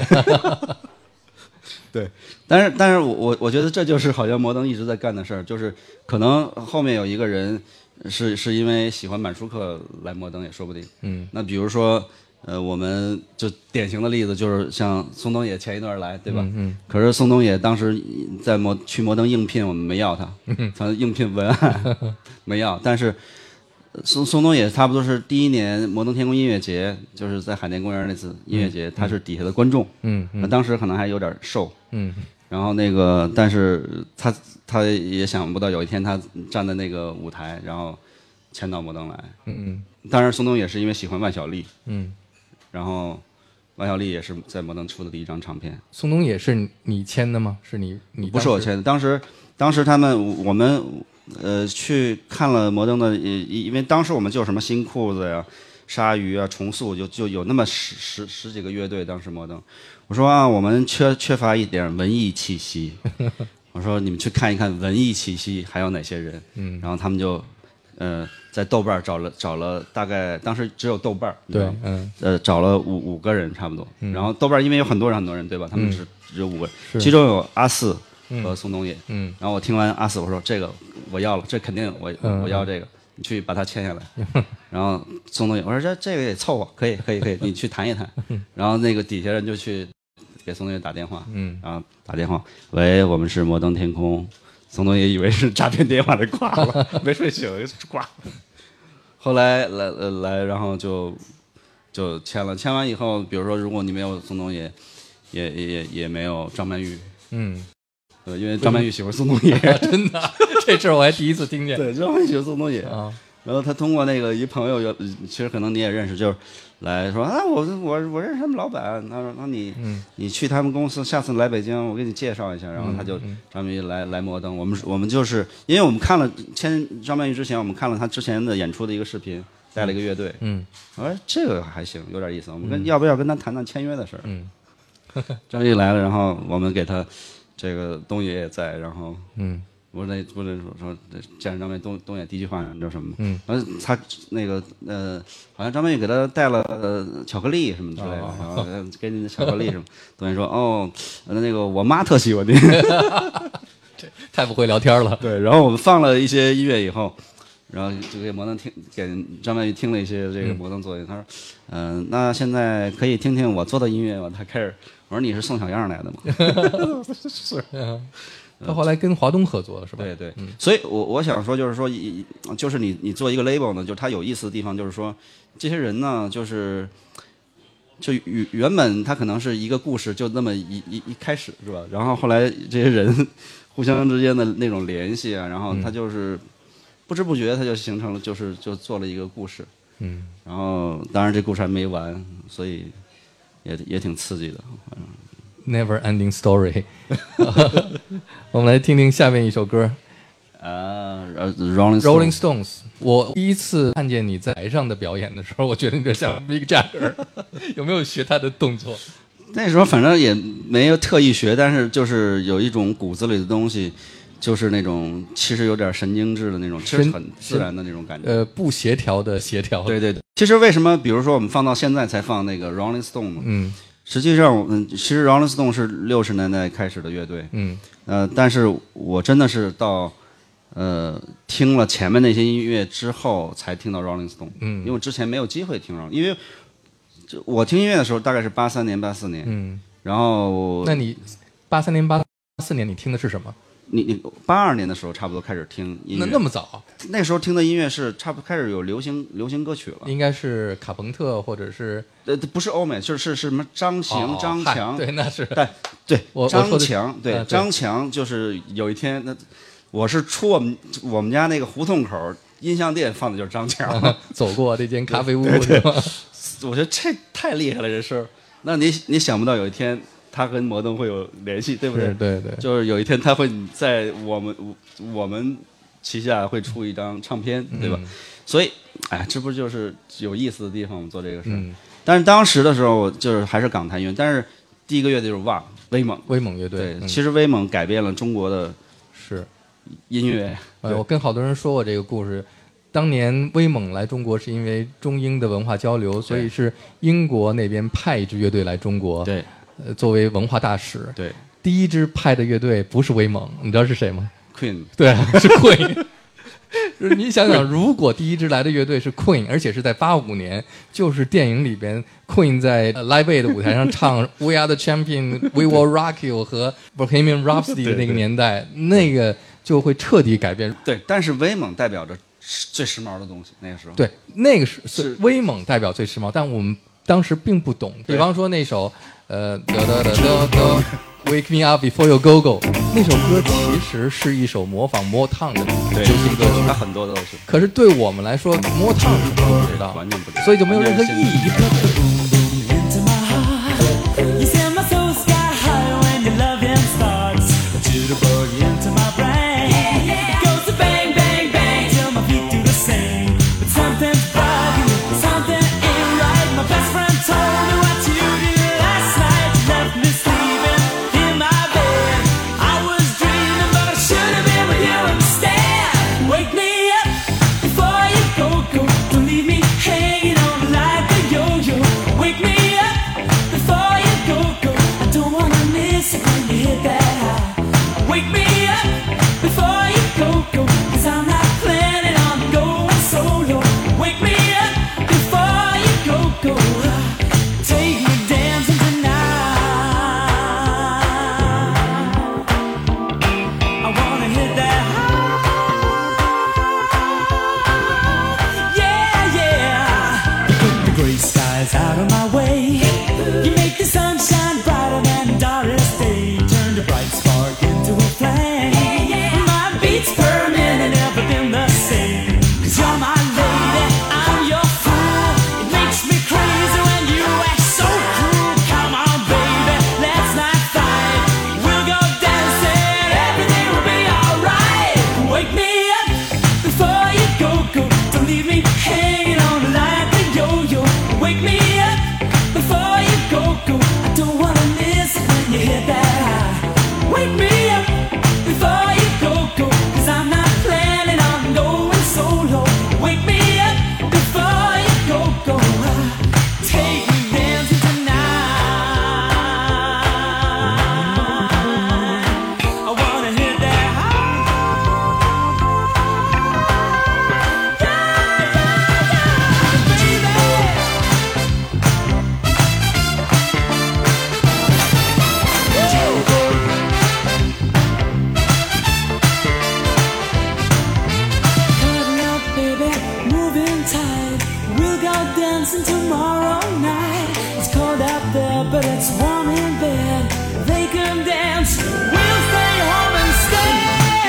对，但是我觉得这就是好像摩登一直在干的事儿，就是可能后面有一个人是因为喜欢满舒克来摩登也说不定。那比如说我们就典型的例子就是像宋冬野前一段来，对吧？可是宋冬野当时在去摩登应聘，我们没要他，他应聘文案没要，但是宋冬野差不多是第一年摩登天空音乐节，就是在海淀公园那次音乐节，他是底下的观众，当时可能还有点瘦，然后那个，但是他也想不到有一天他站在那个舞台，然后签到摩登来，当然宋冬野是因为喜欢万晓利，然后万晓利也是在摩登出的第一张唱片。 宋冬野是你签的吗？是你不是我签的，当时我们去看了摩登的，因为当时我们就有什么新裤子呀、鲨鱼啊、重塑，就有那么十几个乐队。当时摩登，我说我们缺乏一点文艺气息，我说你们去看一看文艺气息还有哪些人，然后他们就在豆瓣找了大概当时只有豆瓣， 对， 找了五个人差不多，然后豆瓣因为有很多人对吧？他们只有5个人，其中有阿四和宋冬野，然后我听完阿四，我说这个我要了，这肯定我要这个，你去把它签下来。然后宋冬野，我说这个也凑合，可以，你去谈一谈。然后那个底下人就去给宋冬野打电话，然后打电话，喂，我们是摩登天空。宋冬野以为是诈骗电话，就挂了，没睡醒就挂了。后来来，然后就签了，签完以后，比如说如果你没有宋冬野，也没有张曼玉，因为张曼玉喜欢宋冬野， 真的，这事儿我还第一次听见。 对，张曼玉喜欢宋冬野啊。然后他通过那个一朋友，其实可能你也认识，就是来说我认识他们老板，他说你去他们公司，下次来北京我给你介绍一下。然后他就张曼玉来摩登，我们就是因为我们看了签张曼玉之前，我们看了他之前的演出的一个视频，带了一个乐队，我说这个还行，有点意思，我们要不要跟他谈谈签约的事儿？张曼玉来了，然后我们给他这个东野也在，然后不是说见着张曼玉东野第一句话你知道什么吗？然后他那个好像张曼玉给他带了巧克力什么之类的，然后给你的巧克力什么，东野说那个我妈特喜欢你， 这太不会聊天了。 对，然后我们放了一些音乐以后，然后就给摩登给张曼玉听了一些这个摩登作品，他说那现在可以听听我做的音乐吗？他开始我说你是宋小样来的吗？是。 他后来跟华东合作了，是吧？ 对对，所以我想说，就是说，就是你做一个 label 呢，就是它有意思的地方，就是说，这些人呢，就原本他可能是一个故事，就那么一开始是吧？然后后来这些人互相之间的那种联系啊，然后他就是不知不觉他就形成了，就做了一个故事。然后当然这故事还没完，所以也挺刺激的。 Never ending story 。我们来听听下面一首歌。Rolling Stones。我第一次看见你在台上的表演的时候，我觉得你就像 Mick Jagger， 有没有学他的动作？ 那时候反正也没有特意学，但是就是有一种骨子里的东西，就是那种其实有点神经质的那种，其实很自然的那种感觉。 不协调的协调。 对对对。其实为什么，比如说我们放到现在才放那个 Rolling Stone 呢？实际上，其实 Rolling Stone 是60年代开始的乐队。但是我真的是到听了前面那些音乐之后，才听到 Rolling Stone。因为之前没有机会听 Rolling， 因为我听音乐的时候大概是83年、84年。然后， 那你83年、84年你听的是什么？ 你82年的时候差不多开始听音乐。 那么早？ 那时候听的音乐是差不多开始有流行歌曲了。 应该是卡朋特或者是不是欧美，是什么张行、张强？ 对，那是对，张强对张强就是有一天我是出我们家那个胡同口音像店放的就是张强， 走过这间咖啡屋是吧？ 我觉得这太厉害了这事儿。那你想不到有一天他跟摩登会有联系，对不对？ 对对， 就是有一天他会在我们旗下会出一张唱片，对吧？所以，这不就是有意思的地方？我们做这个事儿。但是当时的时候，就是还是港台乐，但是第一个乐队就是威猛乐队。 对，其实威猛改变了中国的音乐。 我跟好多人说过这个故事。当年威猛来中国是因为中英的文化交流，所以是英国那边派一支乐队来中国。 对。 作为文化大使。 对。 第一支派的乐队不是威猛，你知道是谁吗？ Queen。 对，是 Queen。就是你想想，如果第一支来的乐队是 Queen， 而且是在85年，就是电影里边 Queen 在 Live Aid 的舞台上唱We Are the Champion, We Will Rock You 和 Bohemian Rhapsody 的那个年代，那个就会彻底改变。 对，但是威猛代表着最时髦的东西，那个时候。 对，那个是威猛代表最时髦，但我们当时并不懂。比方说那首Wake Me Up Before You Go Go， 那首歌其实是一首模仿Motown的流行歌曲， 它很多都是。 可是对我们来说，Motown 是不知道， 完全不知道， 所以就没有任何意义。 Before you go, don't leave me hanging on like a yo-yo. us and tomorrow night. It's cold out there, but it's warm in bed. They can dance, we'll stay home instead.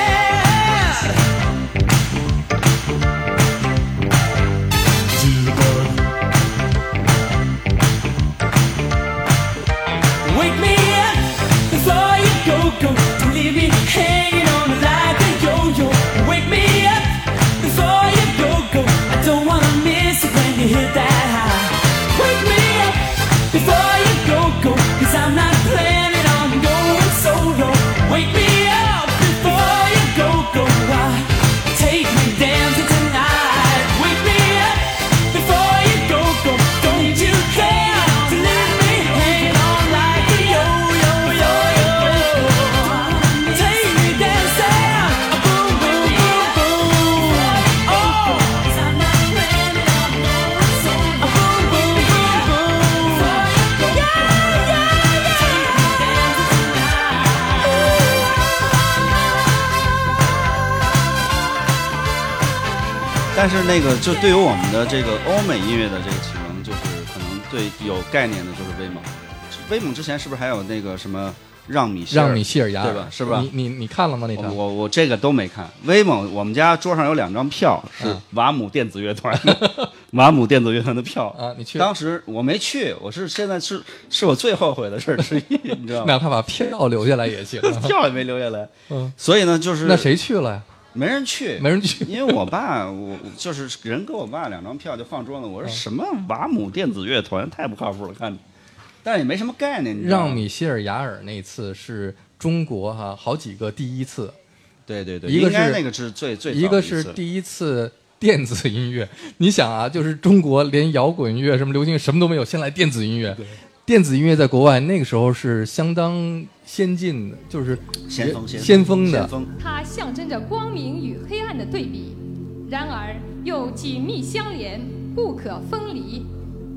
Wake me up before you go. Don't leave me hanging on like a yo-yo. Wake me up before you go. I don't wanna miss it when you hit that high. Wake me up before you go. Cause I'm not planning on going solo. Wake me up before you go. Take me dancing tonight. Wake me up before you go. Don't you care to leave me hanging on like a yo-yo. Take me dancing, boom, boom, boom, boom. Oh, 'cause I'm not planning on going solo. Boom, boom, boom, boom. Yeah. Take me dancing tonight. 但是那个就对于我们的这个欧美音乐的这个启蒙，就是可能对有概念的就是威猛。威猛之前是不是还有那个什么让米歇尔雅尔对吧？是吧？ 你看了吗？那场我这个都没看。威猛，我们家桌上有2张票，是瓦姆电子乐团的，瓦姆电子乐团的票啊，你去？ 当时我没去，我是现在是我最后悔的事之一，你知道吗？ 哪怕把票留下来也行， 票也没留下来。 嗯， 所以呢，就是那谁去了呀？ 没人去，因为我爸，我就是人给我爸2张票就放桌子，我说什么瓦姆电子乐团太不靠谱了，看着，但是也没什么概念。 让米歇尔雅尔那次是中国好几个第一次， 对， 一个是那个是最一个是第一次电子音乐，你想啊，就是中国连摇滚乐、什么流行乐什么都没有，先来电子音乐。电子音乐在国外那个时候是相当先进的，就是先锋的。 它象征着光明与黑暗的对比，然而又紧密相连，不可分离。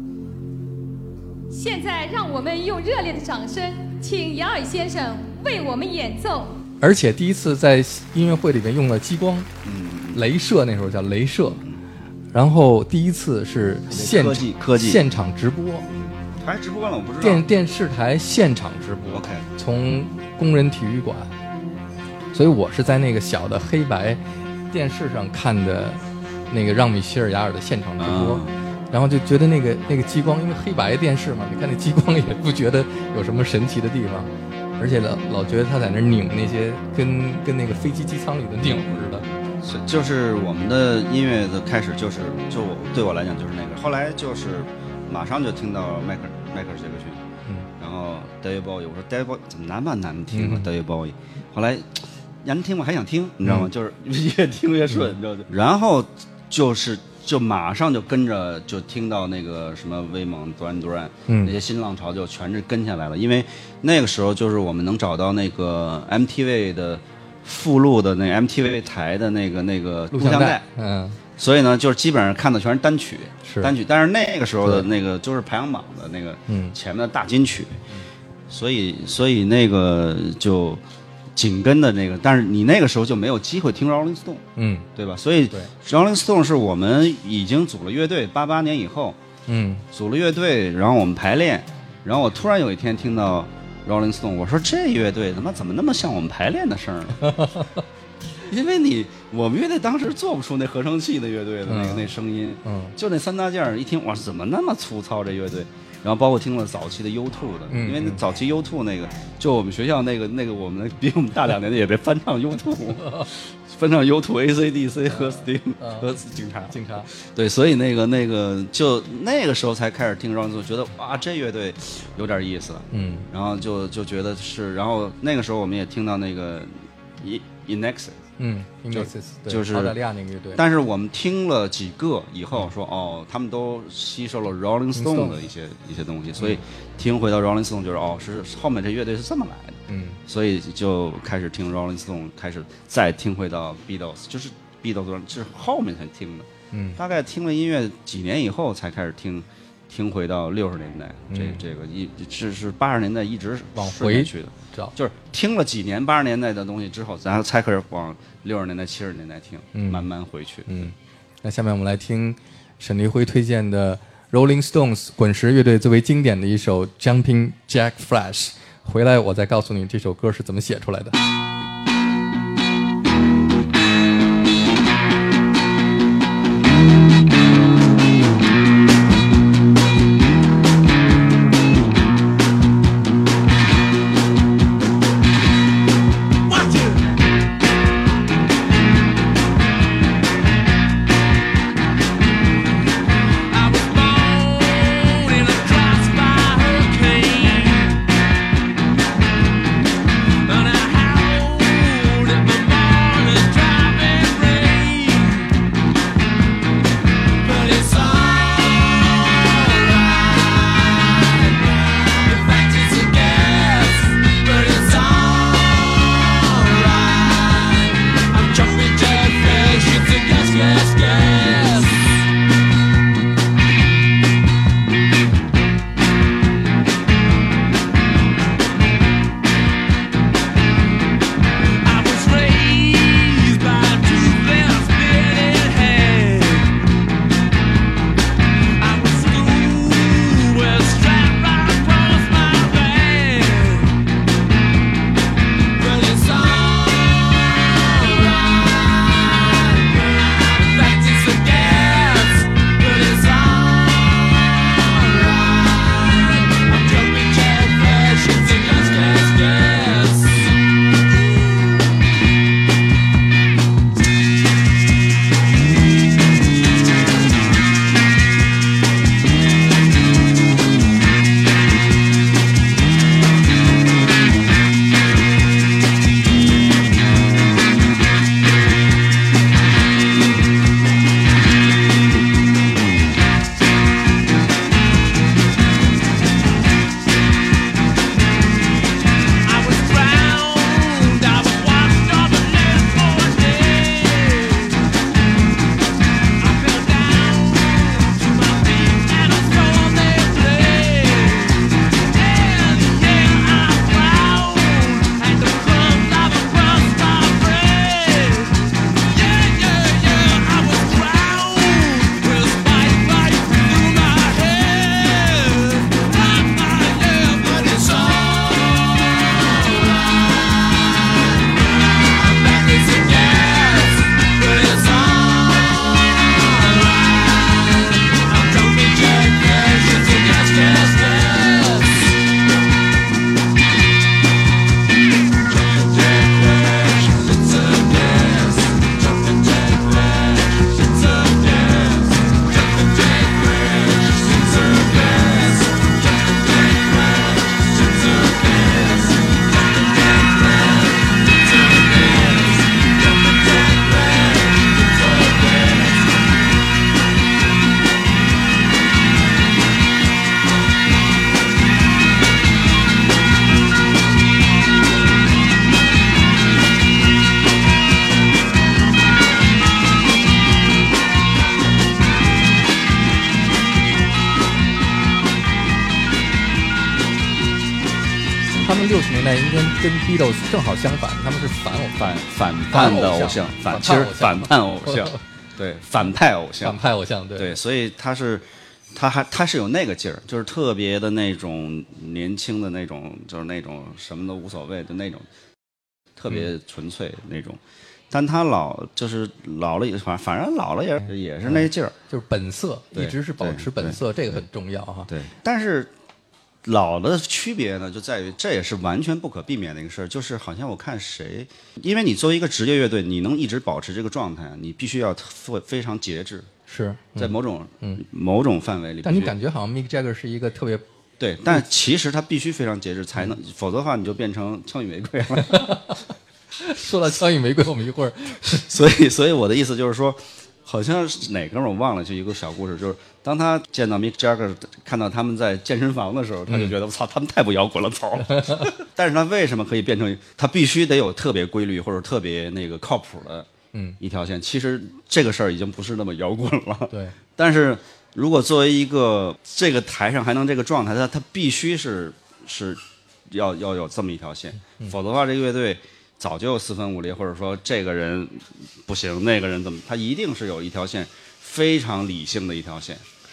现在让我们用热烈的掌声，请雅尔先生为我们演奏。 而且第一次在音乐会里面用了激光，镭射，那时候叫镭射。然后第一次是科技现场直播。 还直播了，我不知道。 电视台现场直播 ，OK， 从工人体育馆，所以我是在那个小的黑白电视上看的那个让米歇尔雅尔的现场直播，然后就觉得那个激光，因为黑白电视嘛，你看那激光也不觉得有什么神奇的地方，而且老觉得他在那拧那些跟那个飞机机舱里的拧似的。 就是我们的音乐的开始就对我来讲就是那个，后来就是马上就听到迈克尔杰克逊，然后 David Bowie， 我说 David Bowie 怎么那么难听啊，David Bowie， 后来难听我还想听，你知道吗？就是越听越顺，你知道吗？然后就马上就跟着就听到那个什么威猛、Duran， 那些新浪潮就全是跟下来了，因为那个时候就是我们能找到那个 MTV 的附录的那 MTV 台的那个录像带，所以呢，就是基本上看的全是单曲，但是那个时候的那个就是排行榜的那个前面的大金曲，所以那个就紧跟的那个，但是你那个时候就没有机会听 Rolling Stone， 对吧？所以 Rolling Stone 是我们已经组了乐队，88年以后，组了乐队，然后我们排练，然后我突然有一天听到 Rolling Stone， 我说这乐队怎么那么像我们排练的声呢？因为我们乐队当时做不出那合成器的乐队的那声音，就那3大件儿，一听哇，怎么那么粗糙这乐队？然后包括听了早期的 U2 的，因为那早期 U2 那个，就我们学校那个我们比我们大2年的也被翻唱 U2， 翻唱 U2、ACDC 和 Sting 和警察，对，所以那个就那个时候才开始听 Rolling Stone， 觉得哇，这乐队有点意思，然后就觉得是，然后那个时候我们也听到那个 Inexus，就是澳大利亚那个乐队。 但是我们听了几个以后说，他们都吸收了 Rolling Stone 的一些东西，所以听回到 Rolling Stone 就是是后面这乐队是这么来的，所以就开始听 Rolling Stone， 开始再听回到 Beatles， 就是 Beatles 是后面才听的，大概听了音乐几年以后才开始听回到60年代，这个是80年代一直往回去的，就是听了几年80年代的东西之后，咱才开始往60年代70年代听，慢慢回去。 那下面我们来听沈黎辉推荐的 Rolling Stones 滚石乐队最为经典的一首 Jumping Jack Flash。回来我再告诉你这首歌是怎么写出来的。他们60年代应该跟 Beatles 正好相反，他们是反叛的偶像，其实反叛偶像，对，反派偶像，对，所以他是有那个劲儿，就是特别的那种年轻的那种，就是那种什么都无所谓的那种，特别纯粹那种。但他老了，反正老了也是那劲儿， 就是本色，一直是保持本色，这个很重要哈。 对，但是老的区别呢，就在于这也是完全不可避免的一个事儿，就是好像我看谁，因为你作为一个职业乐队，你能一直保持这个状态，你必须要非常节制， 是在某种范围里。 但你感觉好像 Mick Jagger 是一个特别对，但其实他必须非常节制才能，否则的话你就变成枪与玫瑰了。 说到枪与玫瑰，我们一会儿， 所以我的意思就是说，好像是哪哥们儿我忘了，就一个小故事，就是当他见到 Mick Jagger 看到他们在健身房的时候，他就觉得我操，他们太不摇滚了，操！但是他为什么可以变成？他必须得有特别规律或者特别那个靠谱的一条线。其实这个事儿已经不是那么摇滚了。 对。 但是如果作为一个这个台上还能这个状态，他必须是要有这么一条线，否则的话这个乐队早就四分五裂，或者说这个人不行，那个人怎么，他一定是有一条线，非常理性的一条线。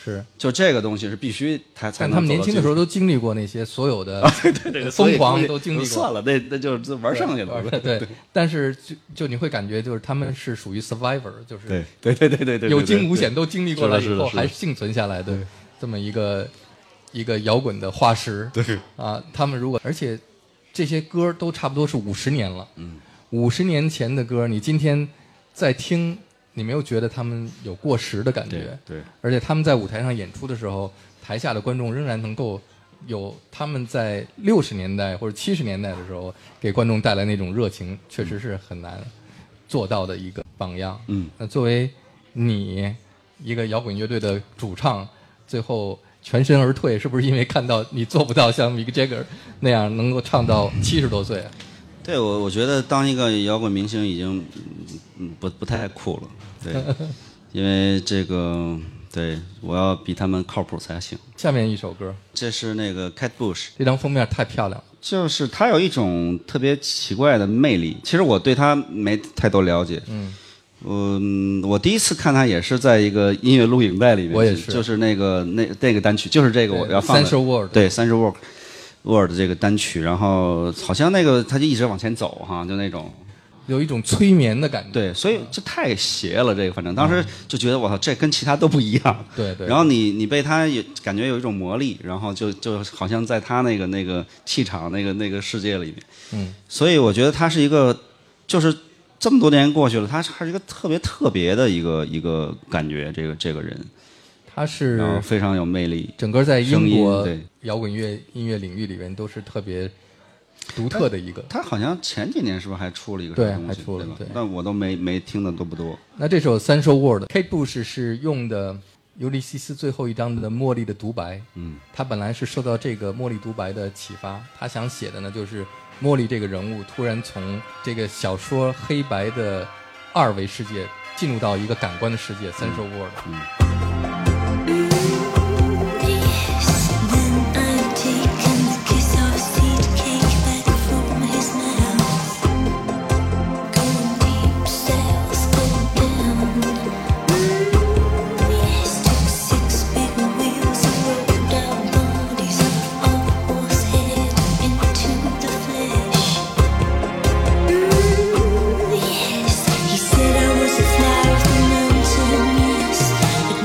是， 就这个东西是必须才但他们年轻的时候都经历过那些所有的疯狂都经历过。 算了，那就玩剩下的。 对，但是就你会感觉就是他们是属于 survivor， 就是对， 有惊无险都经历过了以后是的还幸存下来的这么一个摇滚的化石。 对啊，他们而且这些歌都差不多是50年了。50年前的歌，你今天再听，你没有觉得他们有过时的感觉。 对， 而且他们在舞台上演出的时候，台下的观众仍然能够有他们在60年代或者70年代的时候给观众带来那种热情，确实是很难做到的一个榜样。那作为你一个摇滚乐队的主唱，最后全身而退，是不是因为看到你做不到像 Mick Jagger 那样能够唱到70多岁？ 对，我觉得当一个摇滚明星已经不太酷了。对，因为这个对我要比他们靠谱才行。 下面一首歌， 这是那个 Kate Bush， 这张封面太漂亮了， 就是他有一种特别奇怪的魅力。其实我对他没太多了解。我第一次看他也是在一个音乐录影带里面， 我也是， 就是那个单曲，就是这个我要放的 Central World， 对 Central World 这个单曲，然后好像那个他就一直往前走哈，就那种有一种催眠的感觉。 对，所以这太邪了，这个反正当时就觉得我操，这跟其他都不一样。 对。 然后你被他感觉有一种魔力，然后就好像在他那个气场那个世界里面。所以我觉得他是一个，就是这么多年过去了，他是一个特别的一个感觉，这个人。 他是然后非常有魅力， 整个在英国对摇滚音乐领域里面都是特别独特的一个。 他好像前几年是不是还出了一个对， 什么东西， 还出了，对， 但我都没听的都不多。 那这首 Central World Kate Bush 是用的尤利西斯最后一章的茉莉的独白。他本来是受到这个茉莉独白的启发，他想写的呢就是茉莉这个人物突然从这个小说黑白的2维世界进入到一个感官的世界 Central World。 He said I was a flower of the mountain, yes.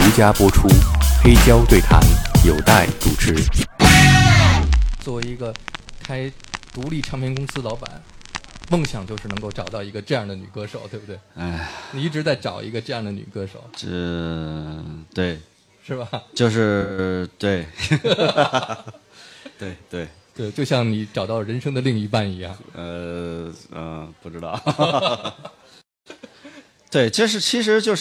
家播出，黑胶对谈有待主持。 作为一个开独立唱片公司老板，梦想就是能够找到一个这样的女歌手，对不对？ 哎， 你一直在找一个这样的女歌手， 对， 是吧？ 就是对，对， 就像你找到人生的另一半一样。 不知道。对，其实就是，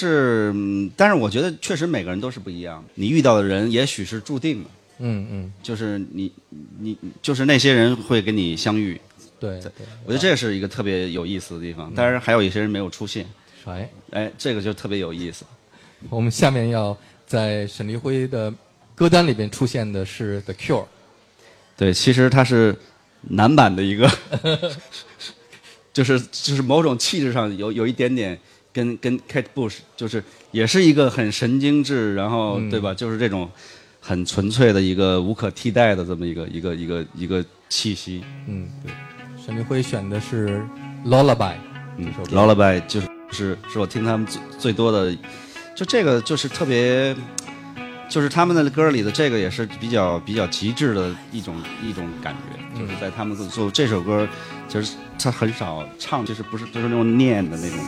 但是我觉得确实每个人都是不一样的。你遇到的人也许是注定的，就是你就是那些人会跟你相遇。 对， 我觉得这是一个特别有意思的地方。当然还有一些人没有出现，这个就特别有意思。 我们下面要在沈黎辉的歌单里边出现的是 The Cure。 对，其实它是男版的一个，就是某种气质上有一点点跟 Kate Bush 就是也是一个很神经质，然后对吧？就是这种很纯粹的一个无可替代的这么一个气息。 对。沈黎辉选的是 Lullaby， Lullaby 是我听他们最多的，就这个就是特别，就是他们的歌里的这个也是比较极致的一种感觉，就是在他们做这首歌，就是他很少唱，就是不是就是那种念的那种。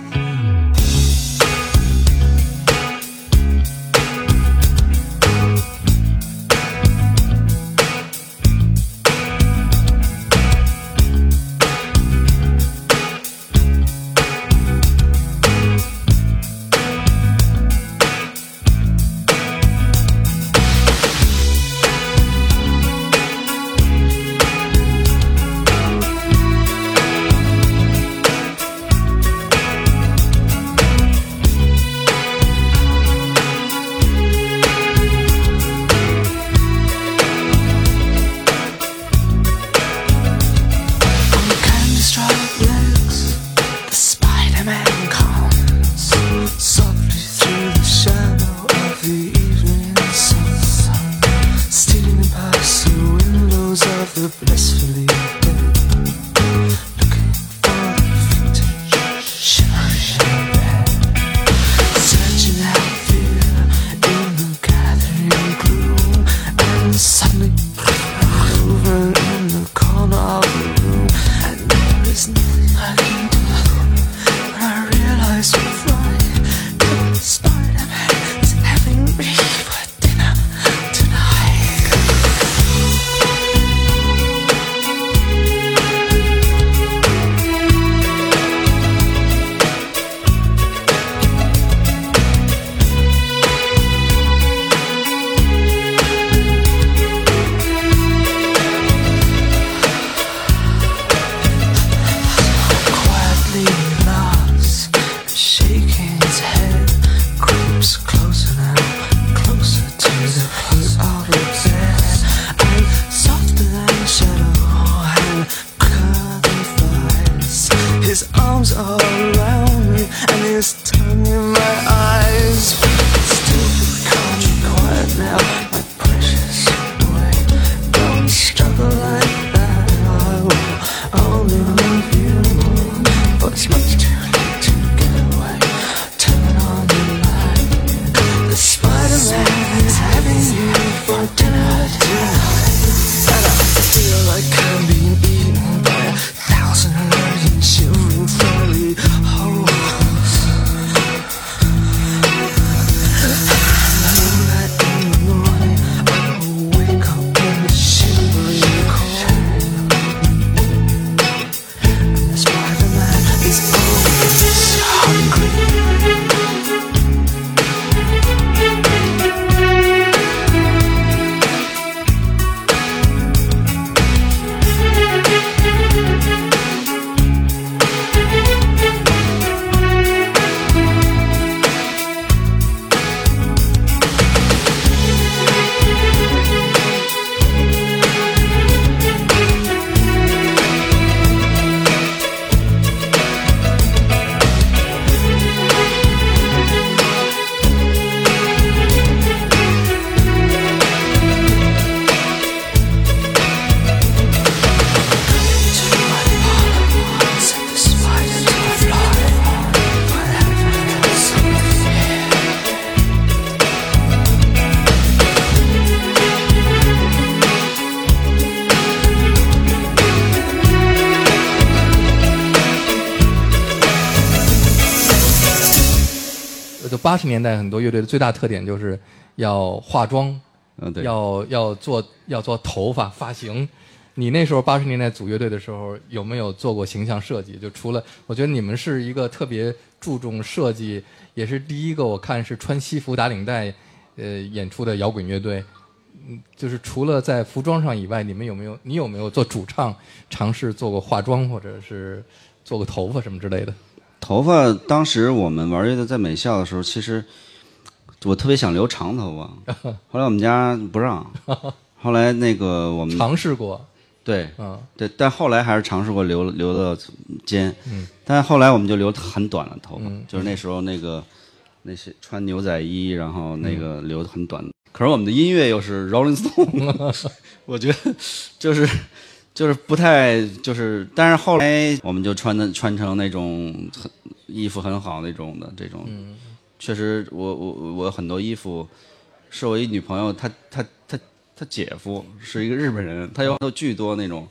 80年代很多乐队的最大特点就是要化妆， 对， 要做头发发型。你那时候80年代组乐队的时候，有没有做过形象设计？就除了，我觉得你们是一个特别注重设计，也是第一个我看是穿西服打领带，演出的摇滚乐队。就是除了在服装上以外，你有没有做主唱尝试做过化妆，或者是做过头发什么之类的？ 头发当时我们玩乐队在美校的时候，其实我特别想留长头发，后来我们家不让，后来那个我们尝试过。 对，对，但后来还是尝试过留到肩，但后来我们就留很短的头发，就是那时候那些穿牛仔衣，然后那个留很短。可是我们的音乐又是 Rolling Stone， 我觉得就是不太就是，但是后来我们就穿成那种衣服很好那种的这种，确实我很多衣服是我一女朋友他姐夫是一个日本人，他有巨多那种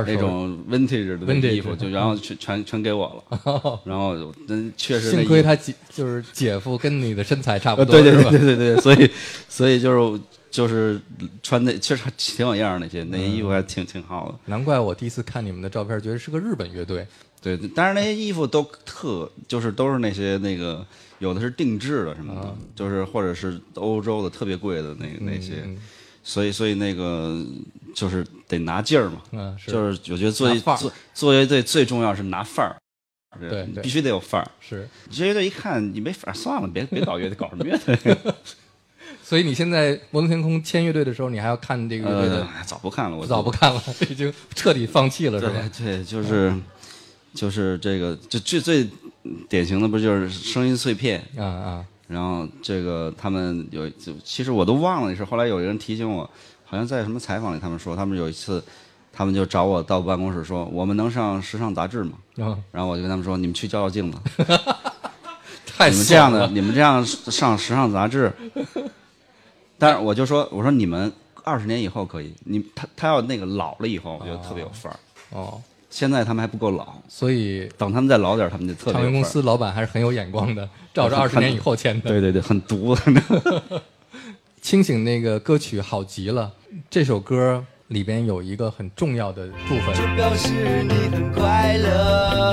vintage 的衣服，就然后全给我了，然后确实幸亏他就是姐夫跟你的身材差不多， 对，所以就是穿的确实挺有样那些衣服还挺好的。 难怪我第一次看你们的照片，觉得是个日本乐队。 对，但是那些衣服都都是那些那个有的是定制的什么的，就是或者是欧洲的特别贵的那些。所以那个就是得拿劲儿嘛，就是我觉得做乐队最重要是拿范儿， 对， 必须得有范儿。 是， 这乐队一看你没范儿，算了，别搞乐队，搞什么乐队？ 所以你现在摩登天空签乐队的时候，你还要看这个乐队的？ 早不看了，我早不看了，已经彻底放弃了，是吧？ 对，就是这个，就最典型的不就是声音碎片啊。 然后这个他们其实我都忘了那事，后来有人提醒我，好像在什么采访里他们说，他们有一次他们就找我到办公室说，我们能上时尚杂志吗？然后我就跟他们说，你们去照镜子。 太你们这样上时尚杂志，但是我说你们20年以后可以，他要那个老了以后，我觉得特别有范儿。现在他们还不够老， 所以等他们再老点，他们就特别有范儿。 唱片公司老板还是很有眼光的，照着20年以后签的。 对，很毒。 清醒那个歌曲好极了，这首歌里边有一个很重要的部分， 就表示你很快乐。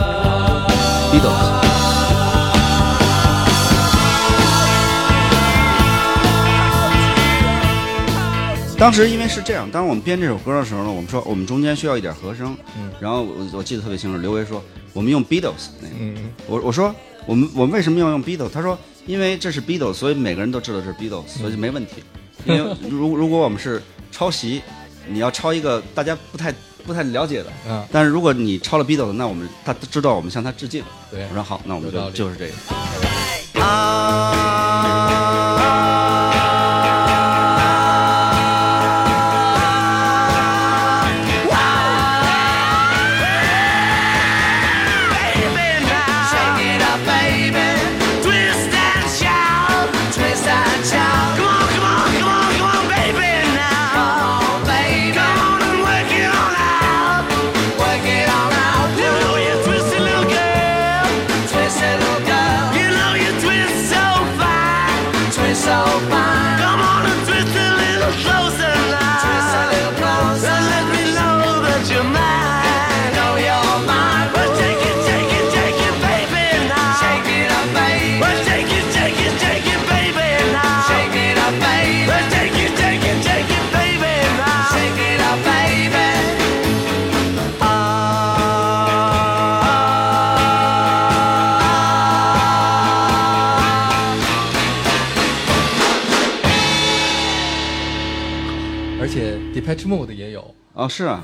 Beatles。当时因为是这样，当我们编这首歌的时候呢，我们说我们中间需要一点和声，然后我记得特别清楚，刘维说我们用 Beatles 那个，我说我们为什么要用 Beatles？ 他说因为这是 Beatles， 所以每个人都知道这是 Beatles， 所以就没问题。因为如果我们是抄袭，你要抄一个大家不太了解的，但是如果你抄了 Beatles， 那他知道我们向他致敬。 对， 我说好，那我们就是这个。 Depeche Mode 也有是啊。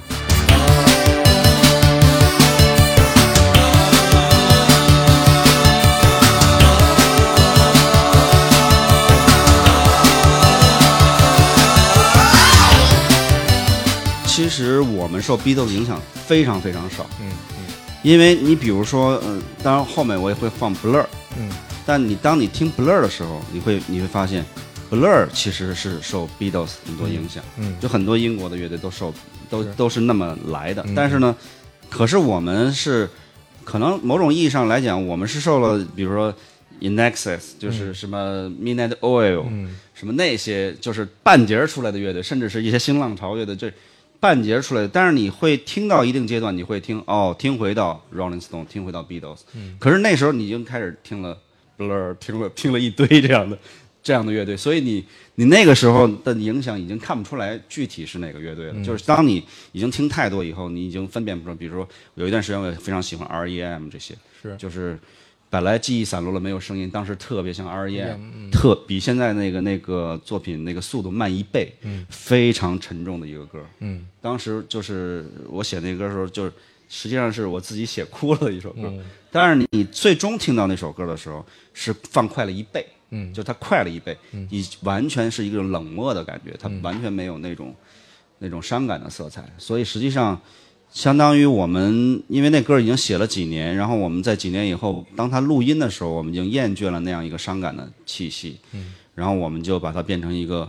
其实我们受 Beatles 影响非常非常少，因为你比如说，当然后面我也会放 Blur，但当你听 Blur 的时候，你会发现。Blur 其实是受 Beatles 很多影响，就很多英国的乐队都是那么来的。但是呢，可是我们是可能某种意义上来讲，我们是受了比如说 In Excess， 就是什么 Midnight Oil，什么那些就是半截出来的乐队，甚至是一些新浪潮乐队，这半截出来的。但是你会听到一定阶段，你会听听回到 Rolling Stone， 听回到 Beatles，可是那时候你已经开始听了 Blur， 听了一堆这样的乐队，所以你那个时候的影响已经看不出来具体是哪个乐队了。就是当你已经听太多以后，你已经分辨不出。比如说有一段时间我也非常喜欢 R.E.M. 这些，就是本来记忆散落了没有声音，当时特别像 R.E.M.， 比现在那个作品那个速度慢1倍，非常沉重的一个歌。当时就是我写那个歌的时候，就是实际上是我自己写哭了的一首歌。但是你最终听到那首歌的时候，是放快了1倍。就它快了1倍，你完全是一个冷漠的感觉，它完全没有那种伤感的色彩。所以实际上，相当于我们因为那歌已经写了几年，然后我们在几年以后，当它录音的时候，我们已经厌倦了那样一个伤感的气息，然后我们就把它变成一个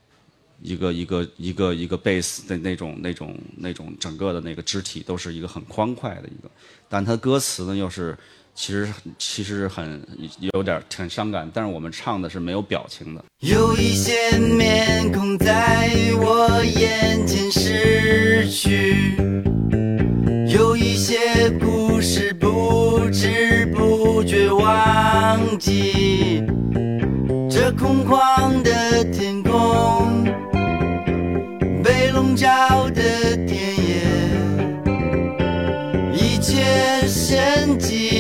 贝斯的那种整个的那个肢体都是一个很欢快的一个，但它歌词呢又是。其实有点很伤感，但是我们唱的是没有表情的。 有一些面孔在我眼前逝去，有一些故事不知不觉忘记。这空旷的天空，被笼罩的田野，一切神迹。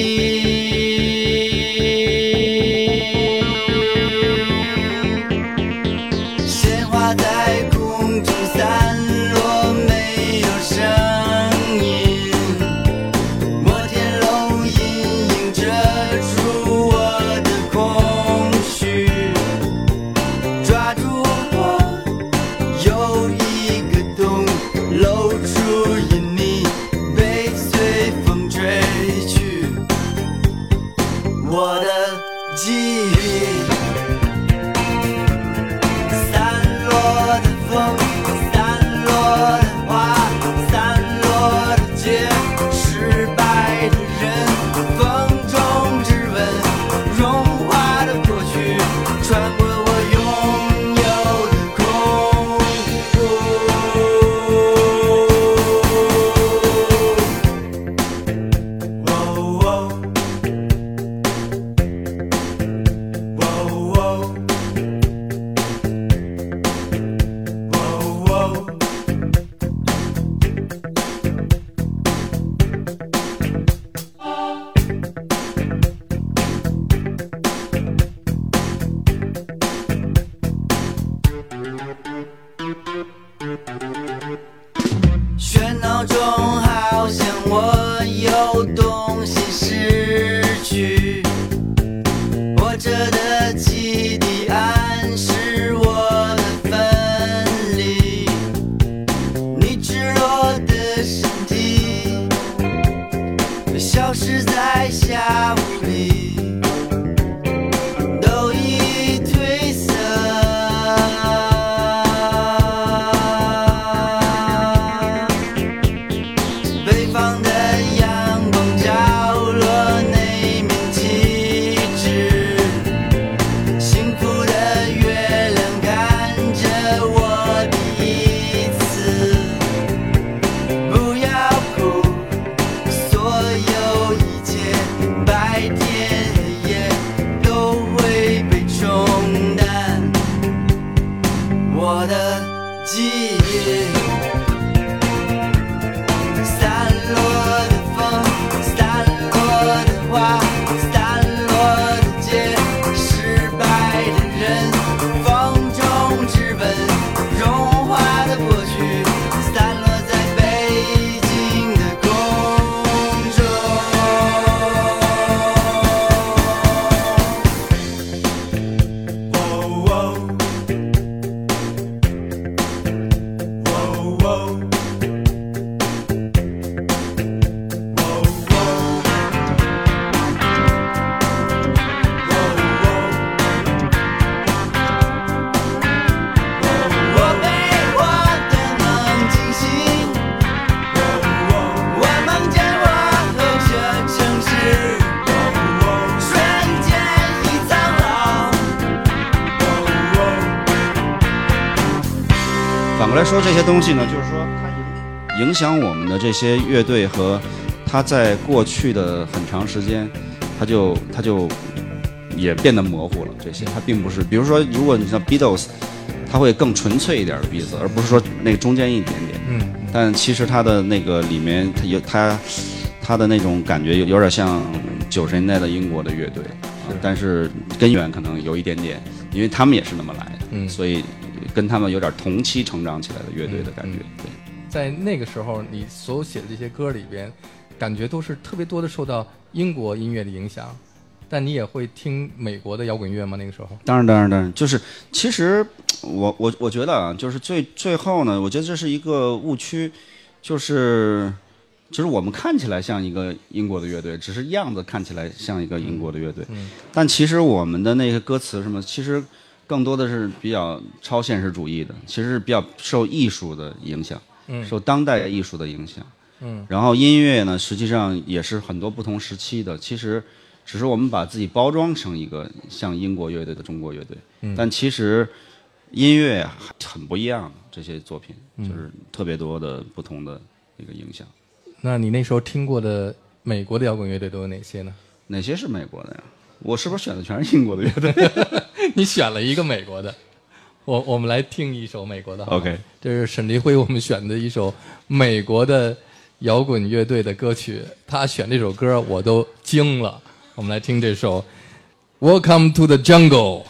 反过来说这些东西呢，就是说它影响我们的这些乐队和它在过去的很长时间，它就也变得模糊了。这些它并不是，比如说如果你像 Beatles， 它会更纯粹一点的 Beatles， 而不是说那个中间一点点。但其实它的那个里面它的那种感觉有点像90年代的英国的乐队，但是根源可能有一点点，因为他们也是那么来的，所以跟他们有点同期成长起来的乐队的感觉。对， 在那个时候，你所有写的这些歌里边，感觉都是特别多的受到英国音乐的影响。但你也会听美国的摇滚乐吗？那个时候？ 当然，就是其实我觉得啊，就是最后呢，我觉得这是一个误区，就是我们看起来像一个英国的乐队，只是样子看起来像一个英国的乐队，但其实我们的那个歌词什么，其实更多的是比较超现实主义的，其实是比较受艺术的影响，受当代艺术的影响。然后音乐呢，实际上也是很多不同时期的，其实只是我们把自己包装成一个像英国乐队的中国乐队，但其实音乐很不一样的，这些作品就是特别多的不同的一个影响。 那你那时候听过的美国的摇滚乐队都有哪些呢？ 哪些是美国的呀？我是不是选的全是英国的乐队？ 你选了一个美国的，我们来听一首美国的。 OK， 这是沈黎辉我们选的一首美国的摇滚乐队的歌曲，他选这首歌我都惊了。我们来听这首《Welcome to the Jungle》。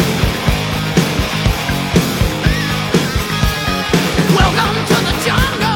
Welcome to the jungle.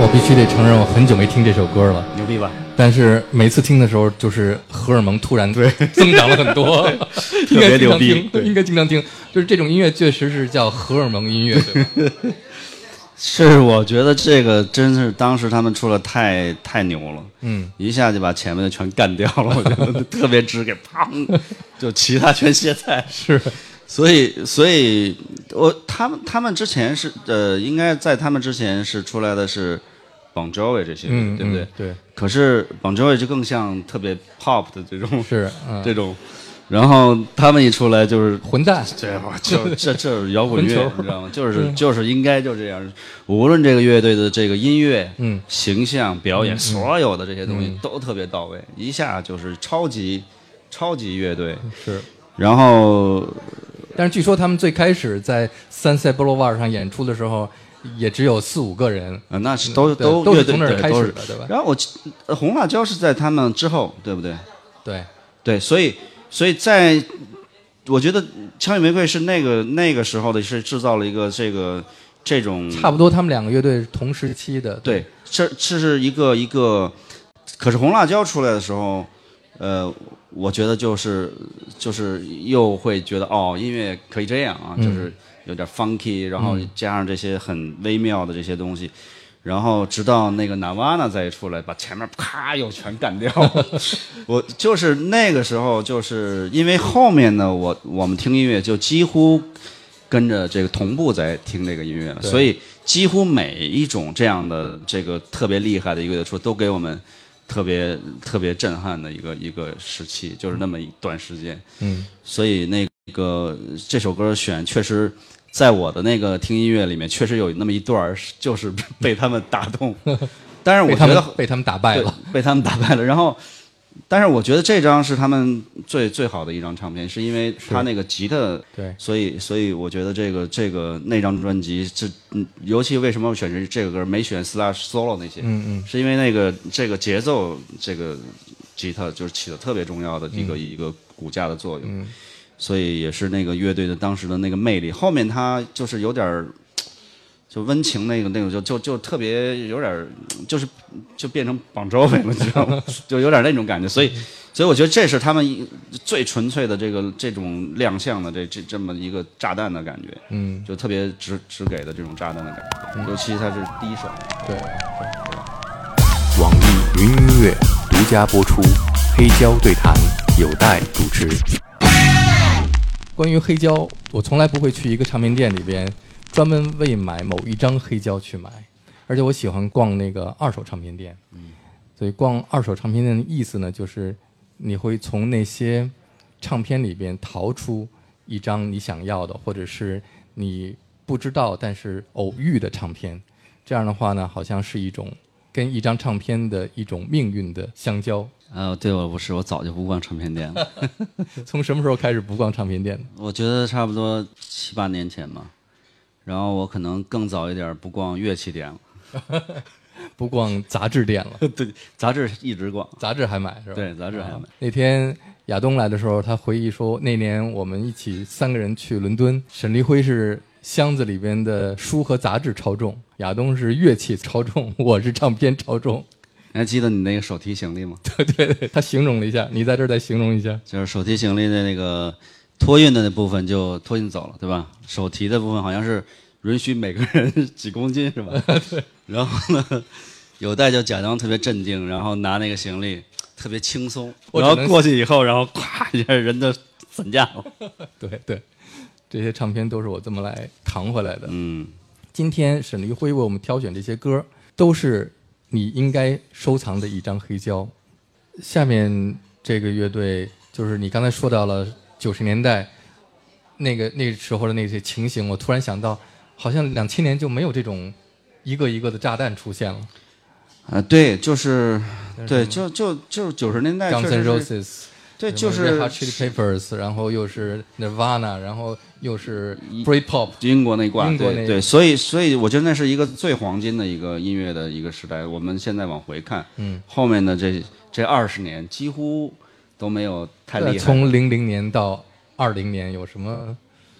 必须得承认，我很久没听这首歌了， 牛逼吧？ 但是每次听的时候，就是荷尔蒙突然增长了很多，应该经常听，应该经常听。就是这种音乐确实是叫荷尔蒙音乐，对吧？ 是，我觉得这个真是当时他们出了太牛了，一下就把前面的全干掉了，我觉得特别直给砰，就其他全歇菜。 是， 所以他们之前是应该在他们之前是出来的是 Bon Jovi 这些，对不对？ 对。 可是 Bon Jovi 就更像特别 pop 的这种， 是这种。然后他们一出来就是混蛋， 这摇滚乐，你知道吗？就是应该就这样。无论这个乐队的这个音乐、形象、表演，所有的这些东西都特别到位，一下就是超级乐队。 是。 然后， 但是据说他们最开始在Sunset Boulevard 上演出的时候，也只有4-5个人。 那是都是从那儿开始的，对吧？ 然后红辣椒是在他们之后，对不对？ 对， 所以在，我觉得枪与玫瑰是那个时候的是制造了一个这种差不多，他们2个乐队同时期的。 对，这是一个，可是红辣椒出来的时候，我觉得就是又会觉得音乐可以这样啊，就是有点 funky， 然后加上这些很微妙的这些东西。然后直到那个 Nirvana 再出来，把前面啪又全干掉。我就是那个时候，就是因为后面呢，我们听音乐就几乎跟着这个同步在听这个音乐了，所以几乎每一种这样的这个特别厉害的乐队出，都给我们特别震撼的一个时期，就是那么一段时间。所以那个这首歌选确实。在我的那个听音乐里面，确实有那么一段就是被他们打动，但是我觉得被他们打败了， 被他们打败了。然后，但是我觉得这张是他们最好的一张唱片，是因为他那个吉他， 对， 所以我觉得那张专辑尤其为什么我选这个歌，没选 Slash Solo 那些，是因为这个节奏这个吉他就是起了特别重要的一个骨架的作用。所以也是那个乐队的当时的那个魅力。后面他就是有点就温情那种就特别有点就变成Bon Jovi了，你知道吗？就有点那种感觉。所以我觉得这是他们最纯粹的这种亮相的这么一个炸弹的感觉。就特别直给的这种炸弹的感觉。尤其他是第一首。 对。 网易云音乐独家播出，黑胶对谈有待主持。 关于黑胶，我从来不会去一个唱片店里边专门为买某一张黑胶去买，而且我喜欢逛那个二手唱片店。所以逛二手唱片店的意思呢，就是你会从那些唱片里边淘出一张你想要的，或者是你不知道但是偶遇的唱片。这样的话呢，好像是一种跟一张唱片的一种命运的相交。 对，我不是，我早就不逛唱片店了。 从什么时候开始不逛唱片店的？ 我觉得差不多7、8年前吧。然后我可能更早一点不逛乐器店了， 不逛杂志店了。 对，杂志一直逛， 杂志还买是吧？ 对，杂志还买。 那天亚东来的时候，他回忆说，那年我们一起3个人去伦敦，沈黎辉是箱子里边的书和杂志超重，亚东是乐器超重，我是唱片超重。 你还记得你那个手提行李吗？ 对，他形容了一下，你在这儿再形容一下。 就是手提行李的那个托运的那部分就托运走了，对吧？手提的部分好像是允许每个人几公斤，是吧？ 对。 然后呢，有代就假装特别镇定，然后拿那个行李特别轻松，然后过去以后，然后咵一下人都散架了。 对，这些唱片都是我这么来扛回来的。今天沈黎辉为我们挑选这些歌，都是你应该收藏的一张黑胶。下面这个乐队就是你刚才说到了90年代那时候的那些情形，我突然想到，好像2000年就没有这种一个一个的炸弹出现了。 对，就是对，就90年代 Guns N' Roses， 对，就是 Red Hot Chili Peppers， 然后又是 Nirvana， 然后又是 Britpop， 英国那挂，对，所以我觉得那是一个最黄金的一个音乐的一个时代。我们现在往回看，后面的这20年几乎都没有太厉害。 从00年到20年有什么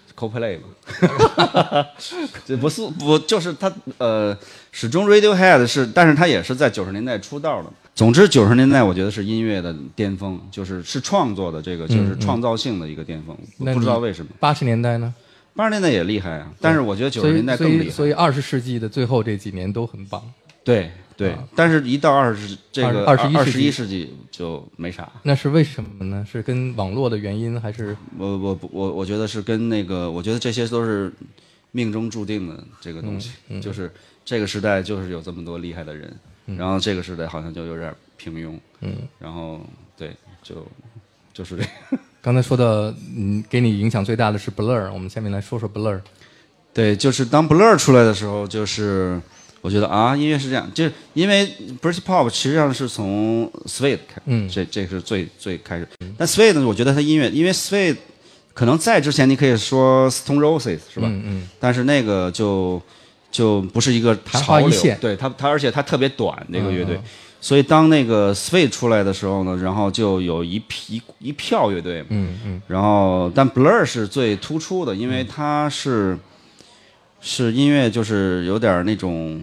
Coldplay 嘛，这不就是他始终 Radiohead 是，但是他也是在90年代出道的。总之90年代我觉得是音乐的巅峰，是创作的这个就是创造性的一个巅峰，不知道为什么。 80年代呢 ？80年代也厉害啊，但是我觉得90年代更厉害。 所以20世纪的最后这几年都很棒。 对。但是一到21世纪就没啥。 那是为什么呢？是跟网络的原因还是？ 我觉得是跟那个，我觉得这些都是命中注定的这个东西，就是这个时代就是有这么多厉害的人，然后这个时代好像就有点平庸，然后对，就是这个。 刚才说到，给你影响最大的是 Blur， 我们下面来说说 Blur。 对，就是当 Blur 出来的时候，就是我觉得啊，音乐是这样，就是因为 Britpop 实际上是从 Suede 开，这是最开始。但 Suede 呢，我觉得它音乐，因为 Suede 可能在之前你可以说 Stone Roses 是吧？但是那个就不是一个潮流，对它而且它特别短那个乐队。所以当那个 Suede 出来的时候呢，然后就有一票乐队，然后但 Blur 是最突出的，因为它是音乐就是有点那种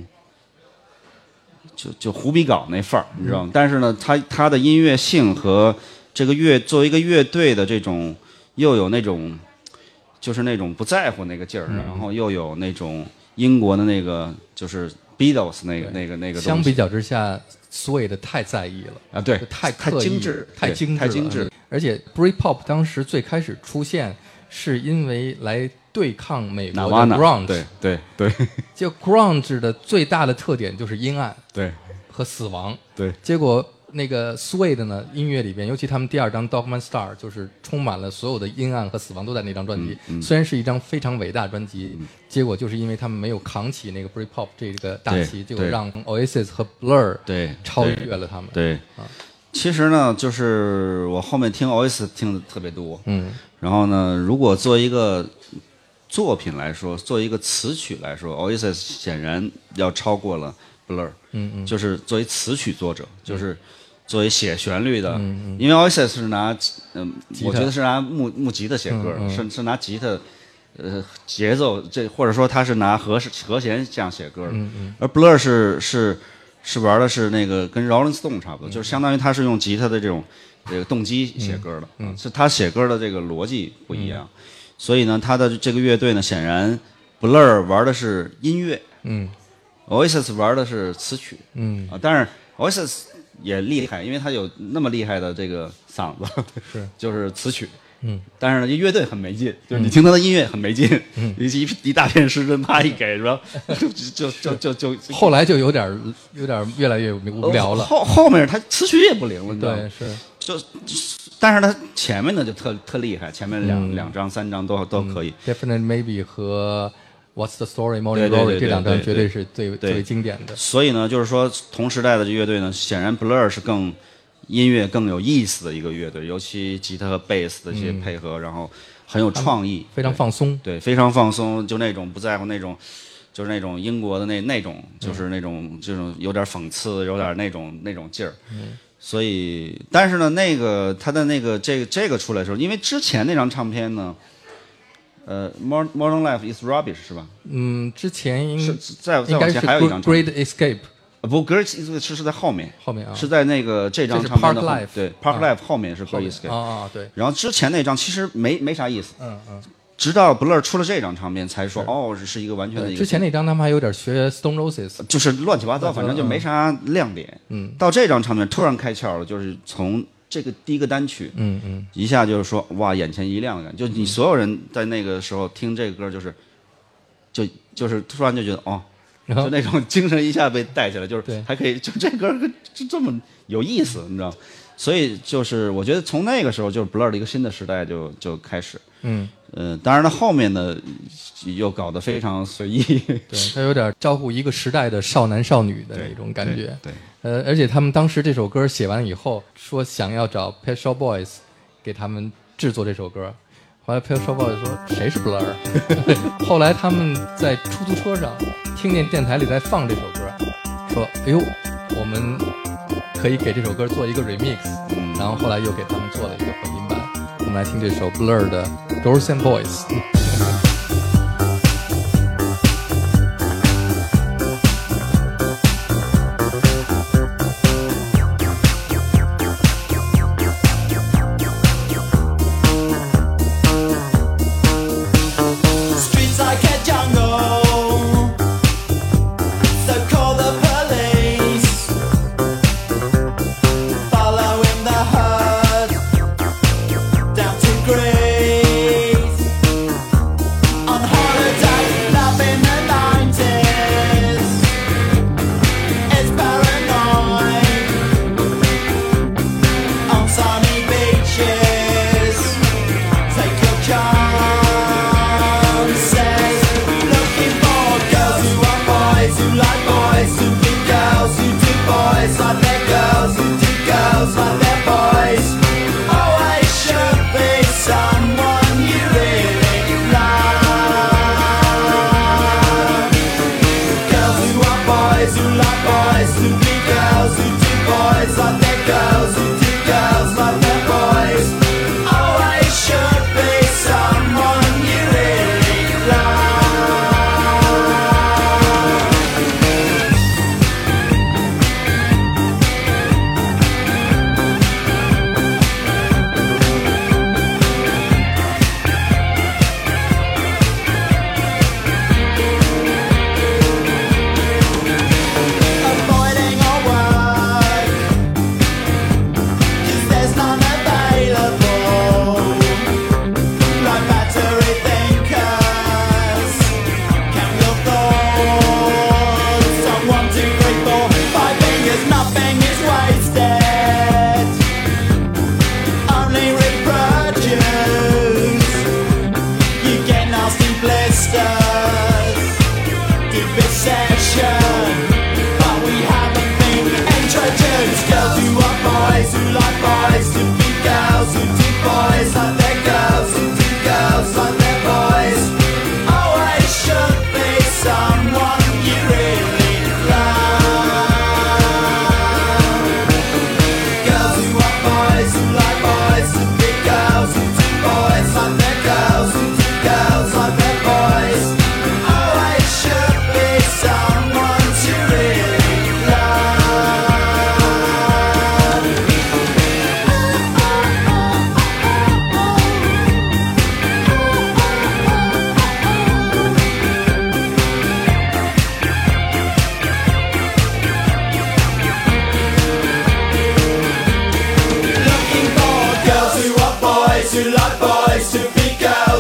就胡逼搞那范儿，你知道吗？但是呢，它的音乐性和这个作为一个乐队的这种又有那种就是那种不在乎那个劲儿，然后又有那种英国的那个就是 Beatles 那个东西。 相比较之下 Suede 太在意了啊，对， 太精致， 太精致。而且 Britpop 当时最开始出现是因为来对抗美国的 grunge， 对， 就 grunge 的最大的特点就是阴暗， 对， 和死亡， 对。 结果那个 Suede 呢，音乐里边，尤其他们第2张 Dogman Star， 就是充满了所有的阴暗和死亡都在那张专辑。虽然是一张非常伟大的专辑，结果就是因为他们没有扛起那个 Britpop 这个大旗，结果让 Oasis 和 Blur 超越了他们。 对。其实呢，就是我后面听 Oasis 听的特别多，然后呢，如果做一个作品来说，做一个词曲来说 ，Oasis 显然要超过了 Blur，就是作为词曲作者，就是作为写旋律的，因为 Oasis 是拿，我觉得是拿木吉他写歌，是拿吉他，节奏或者说他是拿和弦这样写歌的，而 Blur 是玩的是那个跟 Rolling Stone 差不多，就是相当于他是用吉他的这个动机写歌的，是他写歌的这个逻辑不一样，所以呢，他的这个乐队呢，显然 Blur 玩的是音乐，Oasis 玩的是词曲，当然 Oasis 也厉害，因为他有那么厉害的这个嗓子，就是词曲。但是呢，乐队很没劲，就是你听他的音乐很没劲，一大片失真，啪一给，然后就后来就有点越来越无聊了。 后面他词曲也不灵了，你知道吗？ 对， 但是他前面的就特厉害，前面两张3张都可以。 Definitely Maybe 和 What's the Story Morning Glory 这2张绝对是最经典的。 所以呢，就是说同时代的乐队呢，显然 Blur 是音乐更有意思的一个乐队，尤其吉他和贝斯的这些配合，然后很有创意， 非常放松， 对，非常放松，就那种不在乎那种，就是那种英国的那种，就是那种这种有点讽刺，有点那种劲儿。所以，但是呢，他的这个出来的时候，因为之前那张唱片呢，Modern Life is Rubbish 是吧？ 之前应该是还有一张 Great Escape。 不 ，Great Escape 是在后面啊， 是在那个这张唱片的 Park Life， 对 Park Life 后面是 Great Escape 对。 然后之前那张其实没啥意思，直到 Blur 出了这张唱片才说这是一个完全的一个。 之前那张他们还有点学 Stone Roses， 就是乱七八糟，反正就没啥亮点。到这张唱片突然开窍了，就是从这个第一个单曲，一下就是说哇，眼前一亮的感觉，就你所有人在那个时候听这个歌，就是突然就觉得就那种精神一下被带起来，就是还可以，就这歌就这么有意思，你知道？所以就是我觉得从那个时候就是 Blur 的一个新的时代就开始。当然了，后面呢又搞得非常随意， 对，他有点招呼一个时代的少男少女的那种感觉。 对， 而且他们当时这首歌写完以后，说想要找 Pet Shop Boys 给他们制作这首歌。后来 Pet Shop Boys 说谁是 Blur？ 后来他们在出租车上听见电台里在放这首歌，说哎呦，我们可以给这首歌做一个 remix，然后后来又给他们做了一个混音版。我们来听这首 Blur 的 Girls and Boys。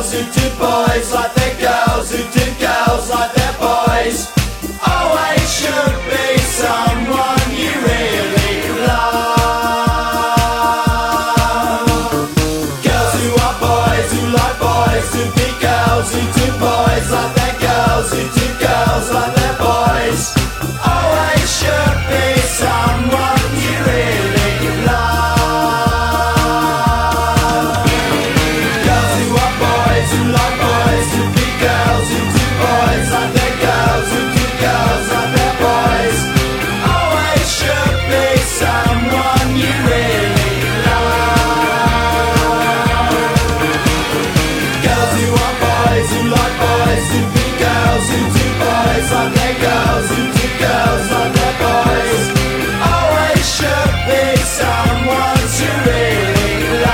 girls who do boys like their girls who do girls like their boys. Always should be someone you really love. Girls who are boys who like boys who be girls who do boys like their girls who do girls like their boys. Always should be someone you really love. Girls who are boys who like boys who be girls who do boys like their girls who do girls like their boys. Always should be someone you really love. Girls who are boys who like boys who be girls who do boys like their girls who do girls like their boys. Always should be someone to really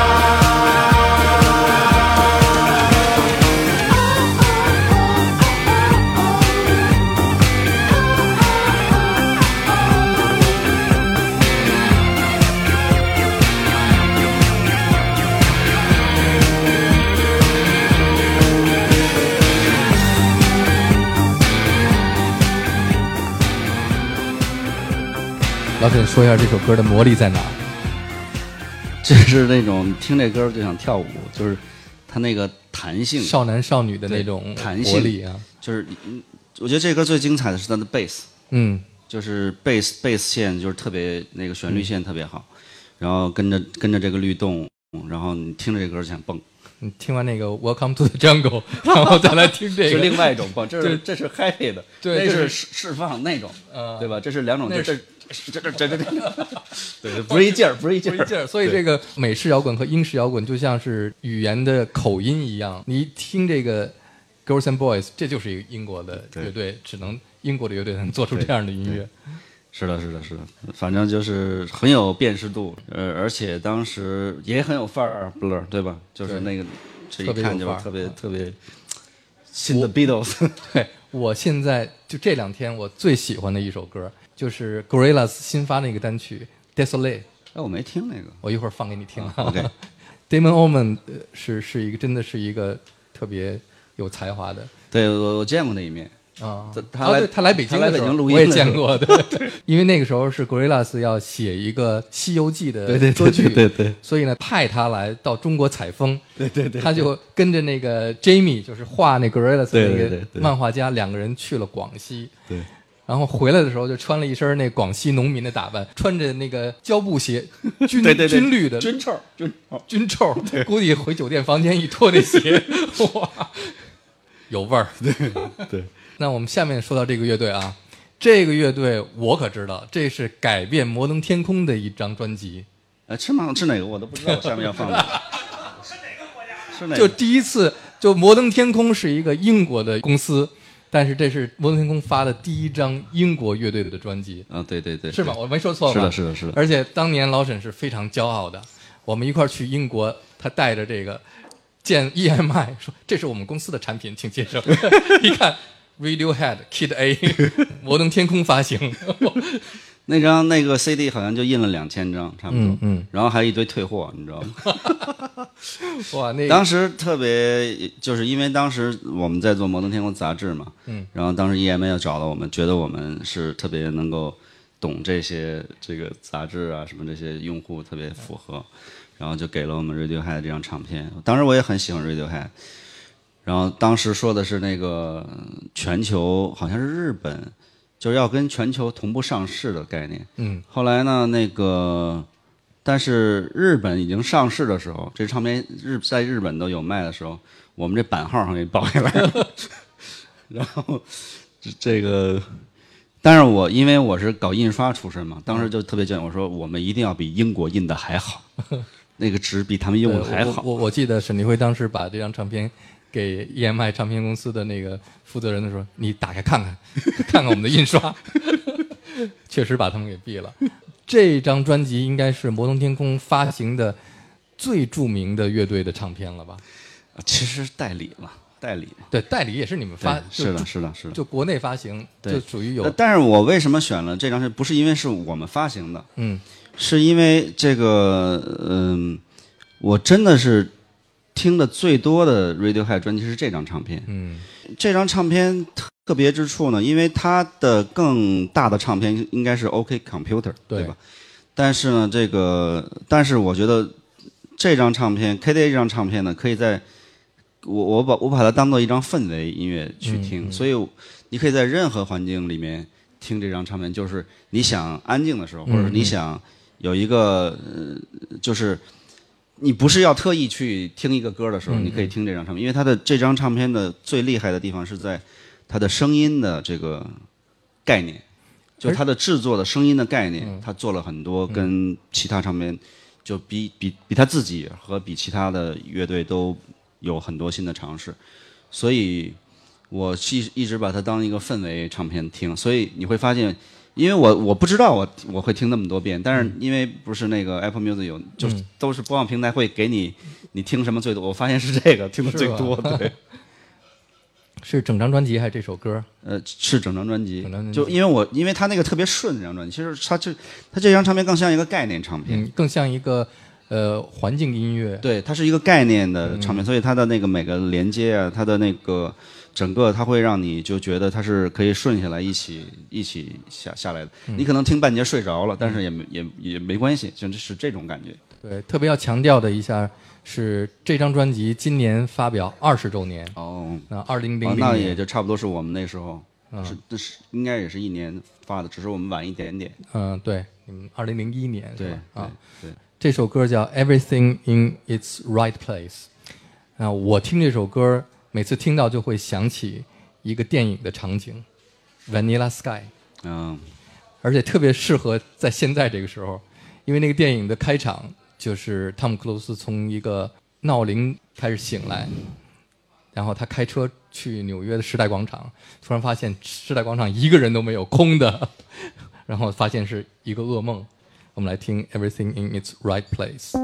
老沈说一下这首歌的魔力在哪儿？ 就是那种听这歌就想跳舞，就是它那个弹性， 少男少女的那种弹性活力啊。 就是我觉得这歌最精彩的是它的贝斯，就是贝斯线就是特别那个旋律线特别好，然后跟着这个律动，然后你听着这歌就想蹦。 你听完那个 Welcome to the Jungle， 然后再来听这个， 是另外一种蹦，这是 happy 的， 对， 那是释放那种，对吧？这是两种，这对，不是一劲儿，不是一劲儿。 所以这个美式摇滚和英式摇滚就像是语言的口音一样，你一听这个 Girls and Boys， 这就是一个英国的乐队，只能英国的乐队才能做出这样的音乐。 是的，反正就是很有辨识度，而且当时也很有范儿 ，Blur 对吧？就是那个这一看就是特别新的 Beatles。 对，我现在就这2天我最喜欢的一首歌就是 Gorillaz 新发那个单曲 Desolate。 我没听那个， 我一会儿放给你听。 OK。Damon Albarn 是一个真的是一个特别有才华的。 对，我见过那一面。他来北京的时候录音我也见过，对，因为那个时候是 Gorillaz 要写一个《西游记》的歌剧， 对， 所以呢派他来到中国采风， 对， 他就跟着那个 Jamie 就是画那 Gorillaz 那个漫画家2个人去了广西， 对， 然后回来的时候就穿了一身那广西农民的打扮，穿着那个胶布鞋，军绿的军臭，估计回酒店房间一脱那鞋，哇，有味儿， 对。 那我们下面说到这个乐队啊，这个乐队我可知道，这是改变摩登天空的一张专辑。 是吗？是哪个我都不知道，下面要放的。是哪个国家？是哪个？ 就第一次，就摩登天空是一个英国的公司，但是这是摩登天空发的第一张英国乐队的专辑。 对， 是吧？我没说错吧？ 是的。 而且当年老沈是非常骄傲的，我们一块儿去英国，他带着这个见 EMI 说：“这是我们公司的产品，请接受。”一看。Radiohead Kid A 摩登天空发行那张那个 CD 好像就印了2000张差不多，然后还有一堆退货，你知道吗？ 哇，那当时特别就是因为当时我们在做摩登天空杂志嘛，然后当时 EMA 要找到我们，觉得我们是特别能够懂这个杂志啊什么这些用户特别符合，然后就给了我们 Radiohead 这张唱片。当时我也很喜欢 Radiohead。然后当时说的是那个全球好像是日本，就是要跟全球同步上市的概念。后来呢，但是日本已经上市的时候，这唱片在日本都有卖的时候，我们这版号上给报下来了。然后这个，但是因为我是搞印刷出身嘛，当时就特别讲，我说我们一定要比英国印的还好，那个纸比他们用的还好。 我记得沈立辉当时把这张唱片给 EMI 唱片公司的那个负责人的时候，你打开看看，看看我们的印刷，确实把他们给毙了。这张专辑应该是摩登天空发行的最著名的乐队的唱片了吧？ 其实代理嘛， 对，代理也是你们发， 是的， 就国内发行，就属于有。 但是我为什么选了这张？不是因为是我们发行的，是因为这个，我真的是听的最多的 Radiohead 专辑是这张唱片。这张唱片特别之处呢，因为它的更大的唱片应该是 OK Computer， 对吧？但是呢，但是我觉得这张唱片 KDA 这张唱片呢，可以在我把它当做一张氛围音乐去听，所以你可以在任何环境里面听这张唱片，就是你想安静的时候，或者你想有一个就是你不是要特意去听一个歌的时候，你可以听这张唱片，因为它的这张唱片的最厉害的地方是在它的声音的这个概念，就它的制作的声音的概念，它做了很多跟其他唱片就比他自己和比其他的乐队都有很多新的尝试，所以我一直把它当一个氛围唱片听，所以你会发现。因为我不知道我会听那么多遍，但是因为不是那个 Apple Music 有，就是都是播放平台会给你听什么最多，我发现是这个听的最多，对。 是整张专辑还是这首歌？ 是整张专辑。就因为他那个特别顺这张专辑，其实他这张唱片更像一个概念唱片， 更像一个环境音乐。 对，它是一个概念的唱片，所以它的那个每个连接啊，它的那个。整个它会让你就觉得它是可以顺下来一起下来的。你可能听半截睡着了，但是也没关系，就是这种感觉。 对，特别要强调的一下是这张专辑今年发表20周年。那2000年， 那也就差不多是我们那时候，是应该也是一年发的，只是我们晚一点点。 对，2001年对啊， 对。 这首歌叫《Everything in Its Right Place》。我听这首歌。每次听到就会想起一个电影的场景 ，Vanilla Sky， 而且特别适合在现在这个时候，因为那个电影的开场就是汤姆·克鲁斯从一个闹铃开始醒来，然后他开车去纽约的时代广场，突然发现时代广场一个人都没有，空的，然后发现是一个噩梦。我们来听 Everything in Its Right Place。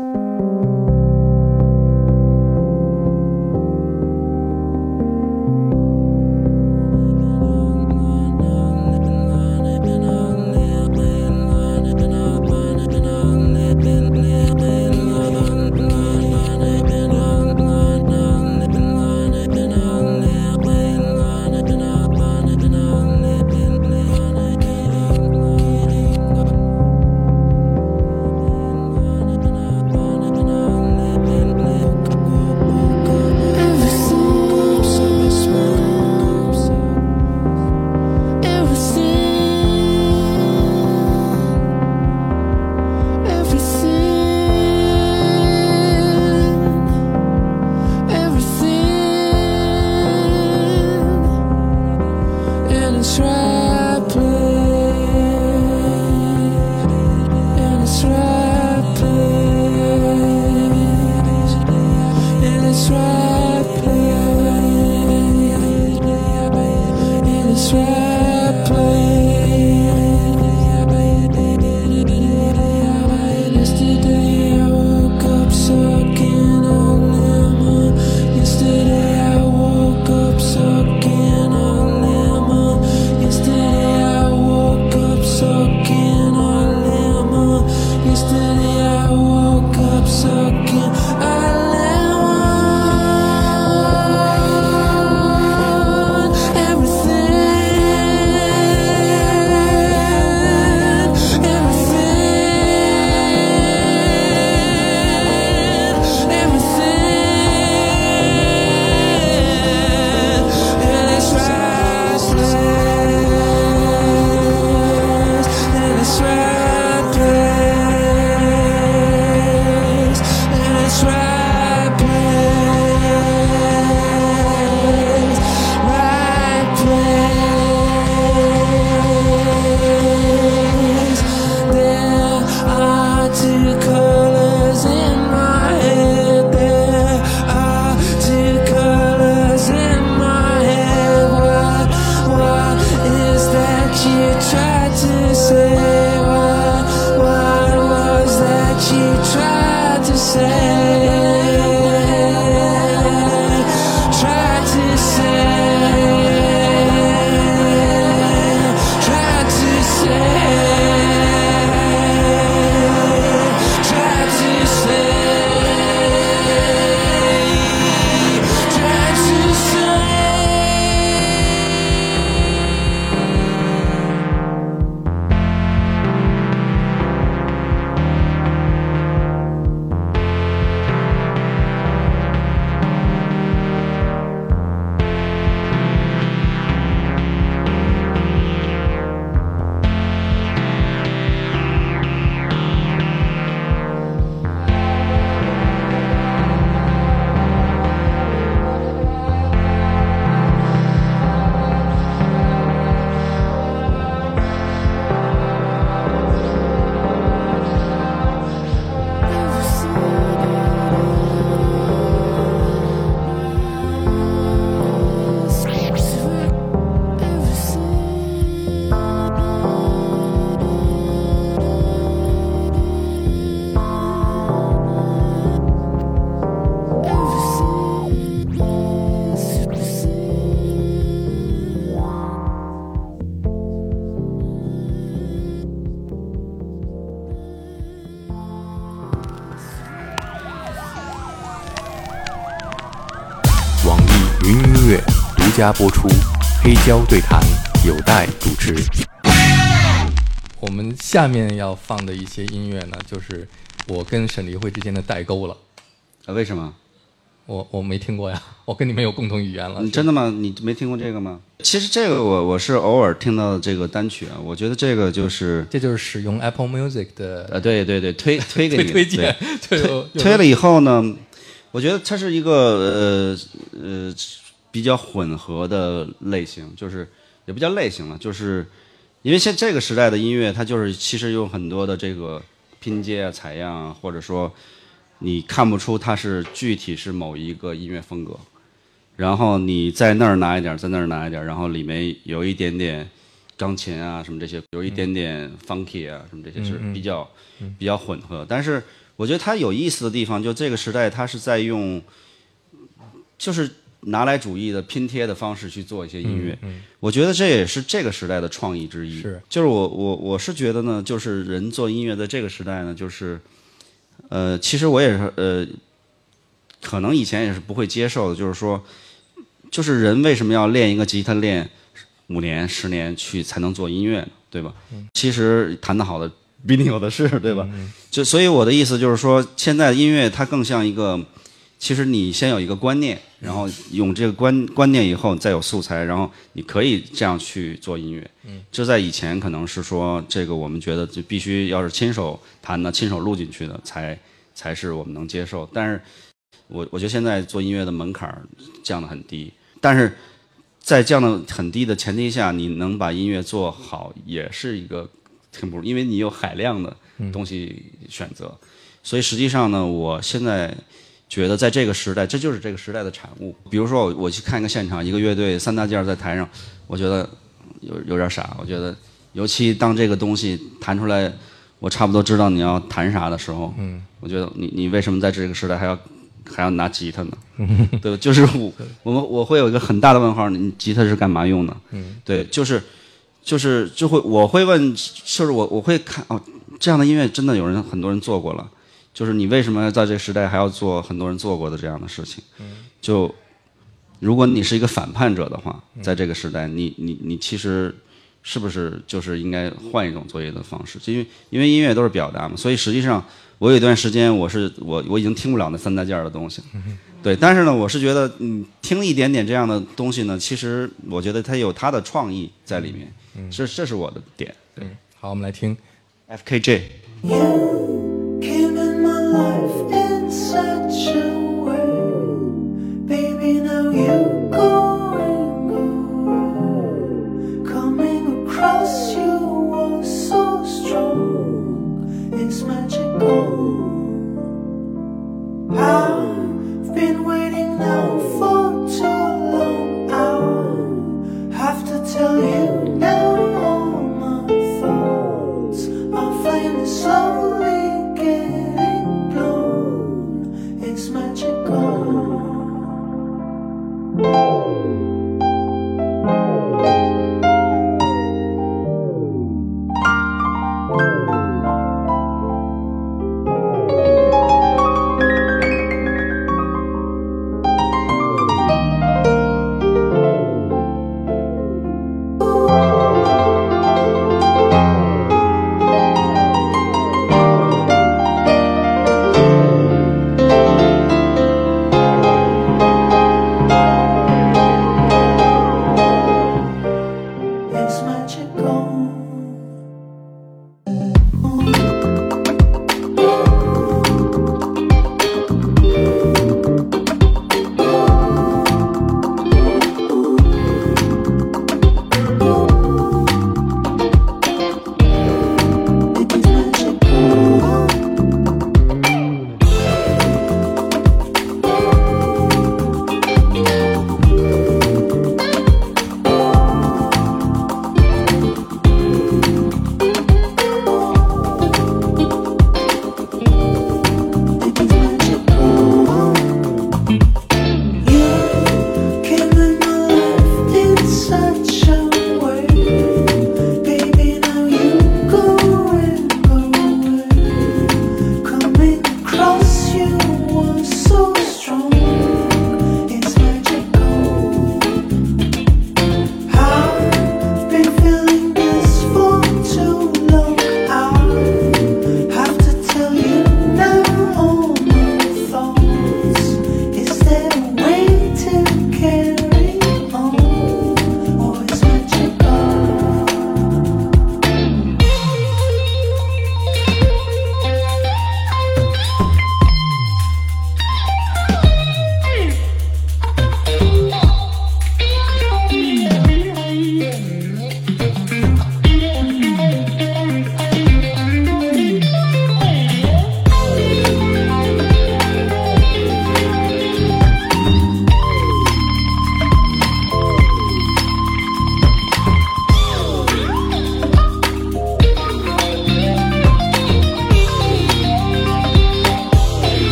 家播出，黑胶对谈有待主持。 我们下面要放的一些音乐呢，就是我跟沈黎慧之间的代沟了。 为什么？ 我没听过呀，我跟你们有共同语言了。 真的吗？你没听过这个吗？其实这个我是偶尔听到的这个单曲啊，我觉得这个就是使用 Apple Music 的对推给你推荐推了以后呢，我觉得它是一个比较混合的类型，就是也不叫类型了，就是因为现这个时代的音乐，它就是其实有很多的这个拼接啊、采样啊，或者说你看不出它是具体是某一个音乐风格，然后你在那儿拿一点，在那儿拿一点，然后里面有一点点钢琴啊什么这些，有一点点 funky 啊什么这些是比较混合。但是我觉得它有意思的地方，就这个时代它是在用就是拿来主义的拼贴的方式去做一些音乐，我觉得这也是这个时代的创意之一。就是我是觉得呢，就是人做音乐在这个时代呢，就是其实我也是可能以前也是不会接受的，就是说，就是人为什么要练一个吉他练5年10年去才能做音乐呢？对吧？其实弹得好的比你有的是，对吧？就所以我的意思就是说，现在的音乐它更像一个，其实你先有一个观念，然后用这个观念以后再有素材，然后你可以这样去做音乐。这在以前可能是说这个我们觉得就必须要是亲手弹的、亲手录进去的才是我们能接受。但是我觉得现在做音乐的门槛降得很低，但是在降得很低的前提下，你能把音乐做好也是一个挺不容易，因为你有海量的东西选择。所以实际上呢，我现在觉得在这个时代，这就是这个时代的产物。比如说我去看一个现场，一个乐队3大件在台上，我觉得有点傻。我觉得尤其当这个东西弹出来，我差不多知道你要弹啥的时候，我觉得你为什么在这个时代还要拿吉他呢？对吧？就是我会有一个很大的问号，你吉他是干嘛用的？对，我会问，就是我会看这样的音乐真的很多人做过了。就是你为什么在这个时代还要做很多人做过的这样的事情？就如果你是一个反叛者的话，在这个时代，你其实是不是就是应该换一种作业的方式？因为音乐都是表达嘛，所以实际上我有一段时间我已经听不了那3大件的东西了。对，但是呢，我是觉得听一点点这样的东西呢，其实我觉得它有它的创意在里面。这是我的点。 好，我们来听 FKJ。 Came in my life in such a way, baby. Now you're going away. Coming across you was so strong. It's magical. I've been waiting now for too long. I'll have to tell you now. All my thoughts are flaming slowly.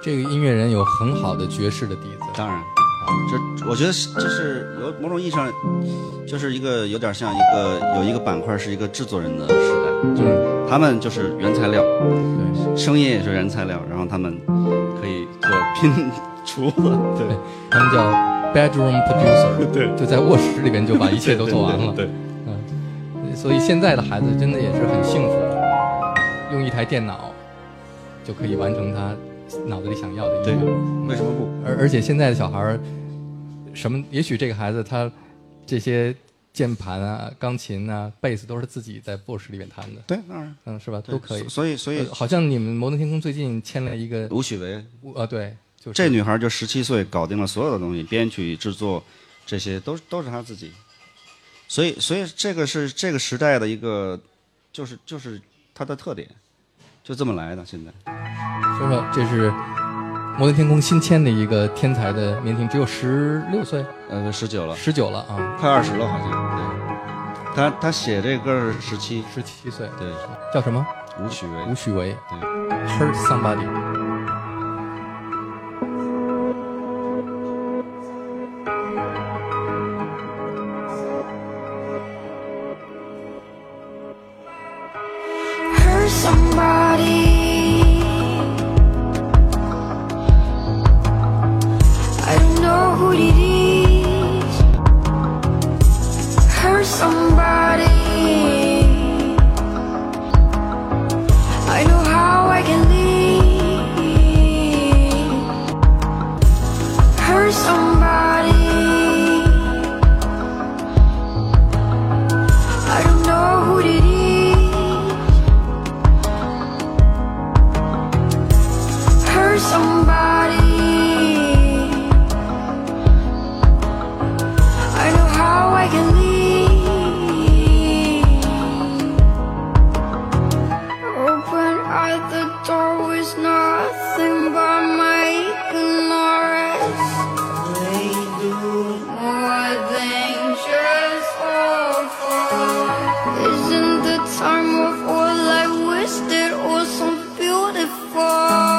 这个音乐人有很好的爵士的底子。 当然，我觉得这是有某种意义上，就是一个有点像有一个板块是一个制作人的时代，就是他们就是原材料，对，声音也是原材料，然后他们可以做拼厨子，对， 他们叫 bedroom producer， 对，就在卧室里边就把一切都做完了， 对， 所以现在的孩子真的也是很幸福，用一台电脑就可以完成他脑子里想要的音乐， 为什么不？ 而且现在的小孩什么，也许这个孩子他这些键盘啊、钢琴啊、贝斯都是自己在卧室里面弹的， 对，当然， 是吧？都可以。 所以， 好像你们摩登天空最近签了一个吴许维， 对，就是这女孩就17岁搞定了所有的东西，编曲、制作，这些都是她自己。所以这个是这个时代的一个，就是它的特点，就这么来的。现在说说，这是摩登天空新签的一个天才的年轻，只有16岁 ，19了 ，19了啊， 快20了好像。对，他写这歌是17 岁， 对， 叫什么？ 吴许维， 对 ，Hurt Somebody。 Somebody, I don't know who it is. Hurt somebody, I know how I can leave. Hurt somebody, I don't know who it is. Somebody, I know how I can leave. Open at the door was nothing but my ignorance. Way more than just awful. Isn't the time of all I wasted or some beautiful?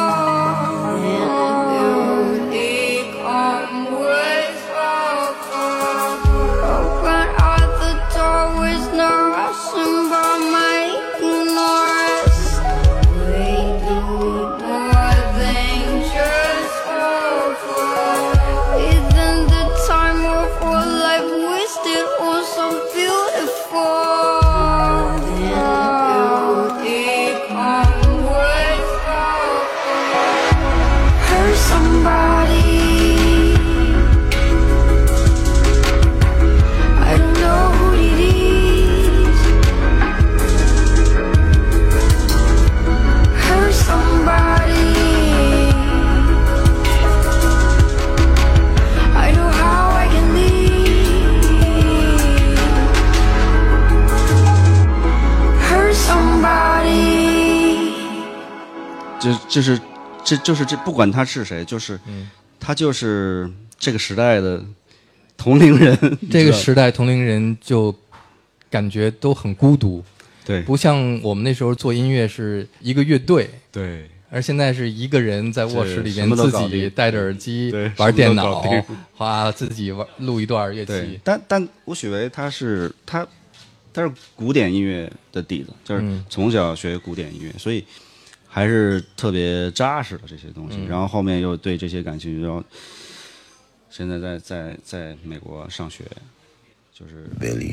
这不管他是谁，就是他就是这个时代的同龄人。 这个时代同龄人就感觉都很孤独， 对， 不像我们那时候做音乐是一个乐队， 对， 而现在是一个人在卧室里边自己戴着耳机玩电脑，自己录一段乐器。 但吴许维他是古典音乐的底子，就是从小学古典音乐，所以还是特别扎实的这些东西。然后后面又对这些感兴趣，然后现在在美国上学，就是 Billy。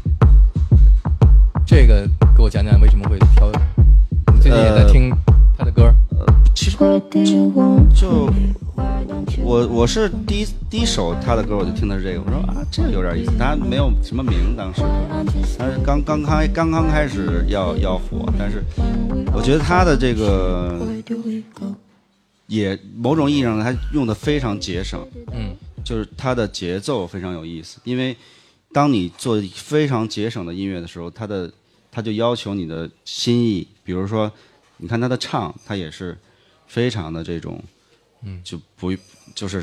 这个给我讲讲为什么会挑？你最近也在听他的歌？ 其实就我是第一首他的歌我就听的是这个，我说啊这个有点意思，他没有什么名当时，他是刚刚开始要火，但是我觉得他的这个也某种意义上他用的非常节省，就是他的节奏非常有意思，因为当你做非常节省的音乐的时候，他就要求你的心意，比如说你看他的唱，他也是非常的这种，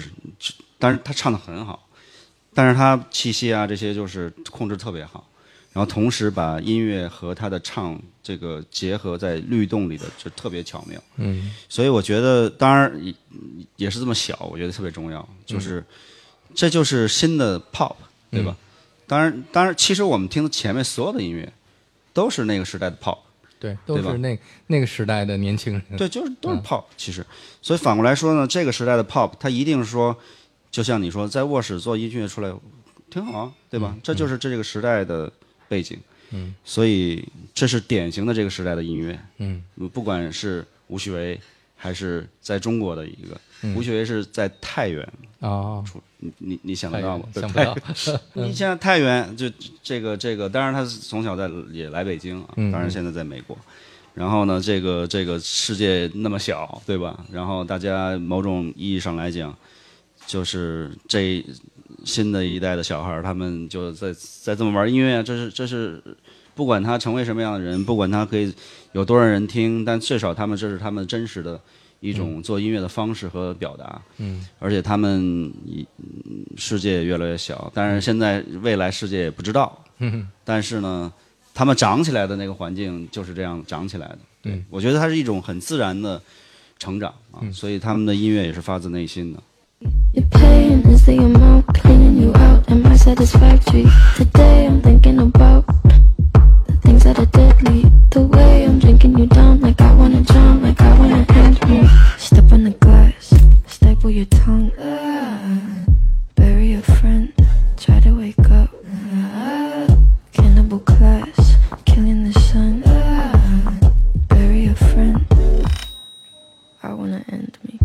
但是他唱得很好，但是他气息啊这些就是控制特别好， 然后同时把音乐和他的唱这个结合在律动里的，就特别巧妙。所以我觉得，当然也是这么小，我觉得特别重要，就是这就是新的 pop， 对吧？当然，其实我们听前面所有的音乐都是那个时代的 pop。 对，都是那个时代的年轻人。 对，都是 pop。其实，所以反过来说呢，这个时代的 pop， 它一定是说，就像你说，在卧室做音乐出来挺好啊，对吧？这就是这个时代的背景。所以这是典型的这个时代的音乐。不管是吴旭维还是在中国的一个，吴旭维是在太原出，你想得到吗？ 想不到。 你现在太原就这个，当然他从小也来北京啊，当然现在在美国。然后呢，这个世界那么小，对吧？然后大家某种意义上来讲，就是这新的一代的小孩，他们就在这么玩音乐，这是不管他成为什么样的人，不管他可以有多少人听，但最少这是他们真实的一种做音乐的方式和表达。而且他们世界也越来越小，但是现在未来世界也不知道。但是呢，他们长起来的那个环境就是这样长起来的。我觉得它是一种很自然的成长啊，所以他们的音乐也是发自内心的。 Your pain is the amount cleaning you out. Am I satisfactory? Today I'm thinking about the things that are deadly. The way I'm drinking you down, like I wanna drown, like I wanna end me. Step on the glass, staple your tongue. Bury a friend, try to wake up. Cannibal class, killing the sun. Bury a friend, I wanna end me.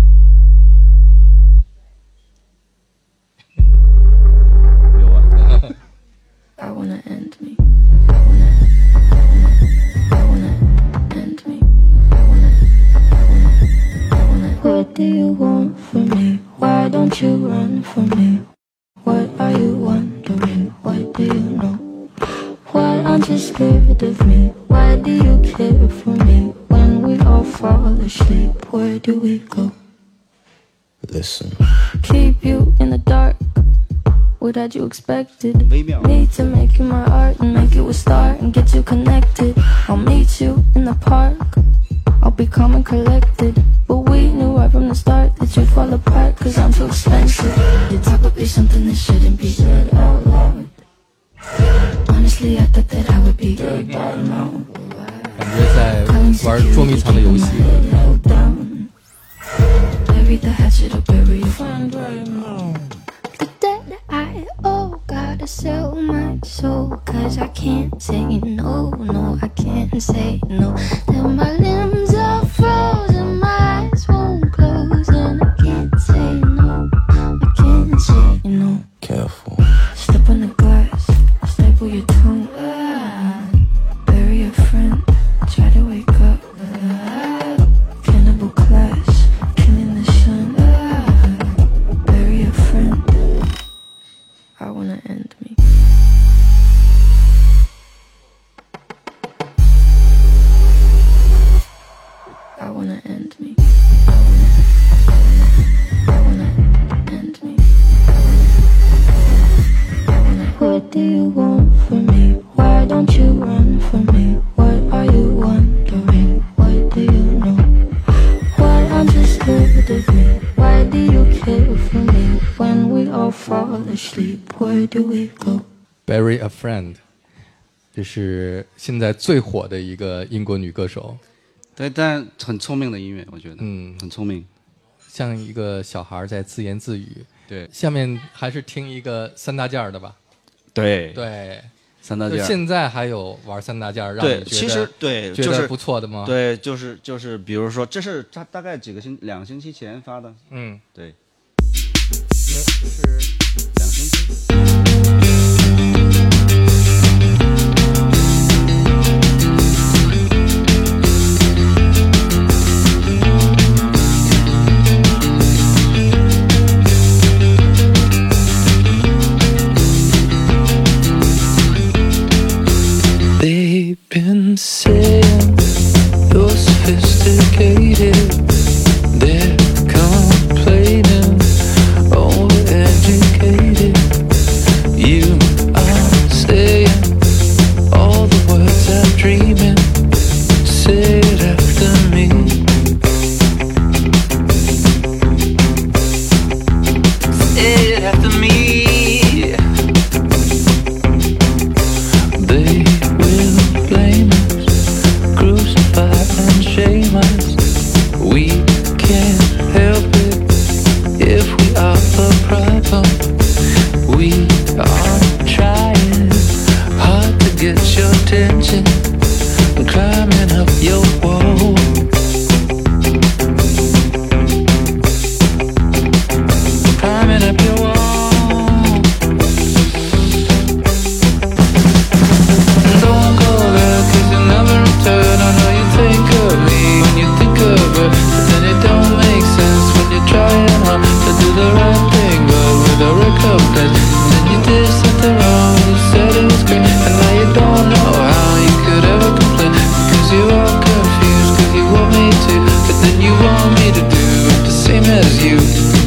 I wanna end me. I wanna end me. What do you want from me? Why don't you run from me? What are you wondering? What do you know? Why aren't you scared of me? Why do you care for me? When we all fall asleep, where do we go? Listen. Keep you in the dark. What had you expected? Need to make you my art and make you a star and get you connected. I'll meet you in the park. I'll be calm and collected. But we knew right from the start that you'd fall apart, cause I'm too expensive. Your talk would be something that shouldn't be said out loud. Honestly, I thought that I would be good by now. 感觉在玩捉迷藏的游戏。 Bury the hatchet or bury your friend right now. I gotta sell my soul, cause I can't say no, no, I can't say no. Then my limbs are frozen, my eyes won't close, and I can't say no, I can't say no. Careful. Step on the glass, staple your tongue. Bury a friend, try to wake up. Cannibal class, killing the sun. Bury a friend, I wanna end me. I wanna end me. I wanna end me. What do you want from me? Why don't you run from me? What are you wondering? What do you know? Why aren't you scared of me? Why do you care for me? When we all fall asleep, where do we go? Bury a friend， 这是现在最火的一个英国女歌手。 对，但很聪明的音乐，我觉得，很聪明， 像一个小孩在自言自语。 对， 下面还是听一个三大件的吧。 对对， 三大件。 现在还有玩三大件让你觉得其实对， 觉得不错的吗？ 对，就是比如说，这是他大概2个星期前发的。对，是2个星期。 They've been saying you're sophisticated. They're complaining, overeducated. You then you want me to do the same as you.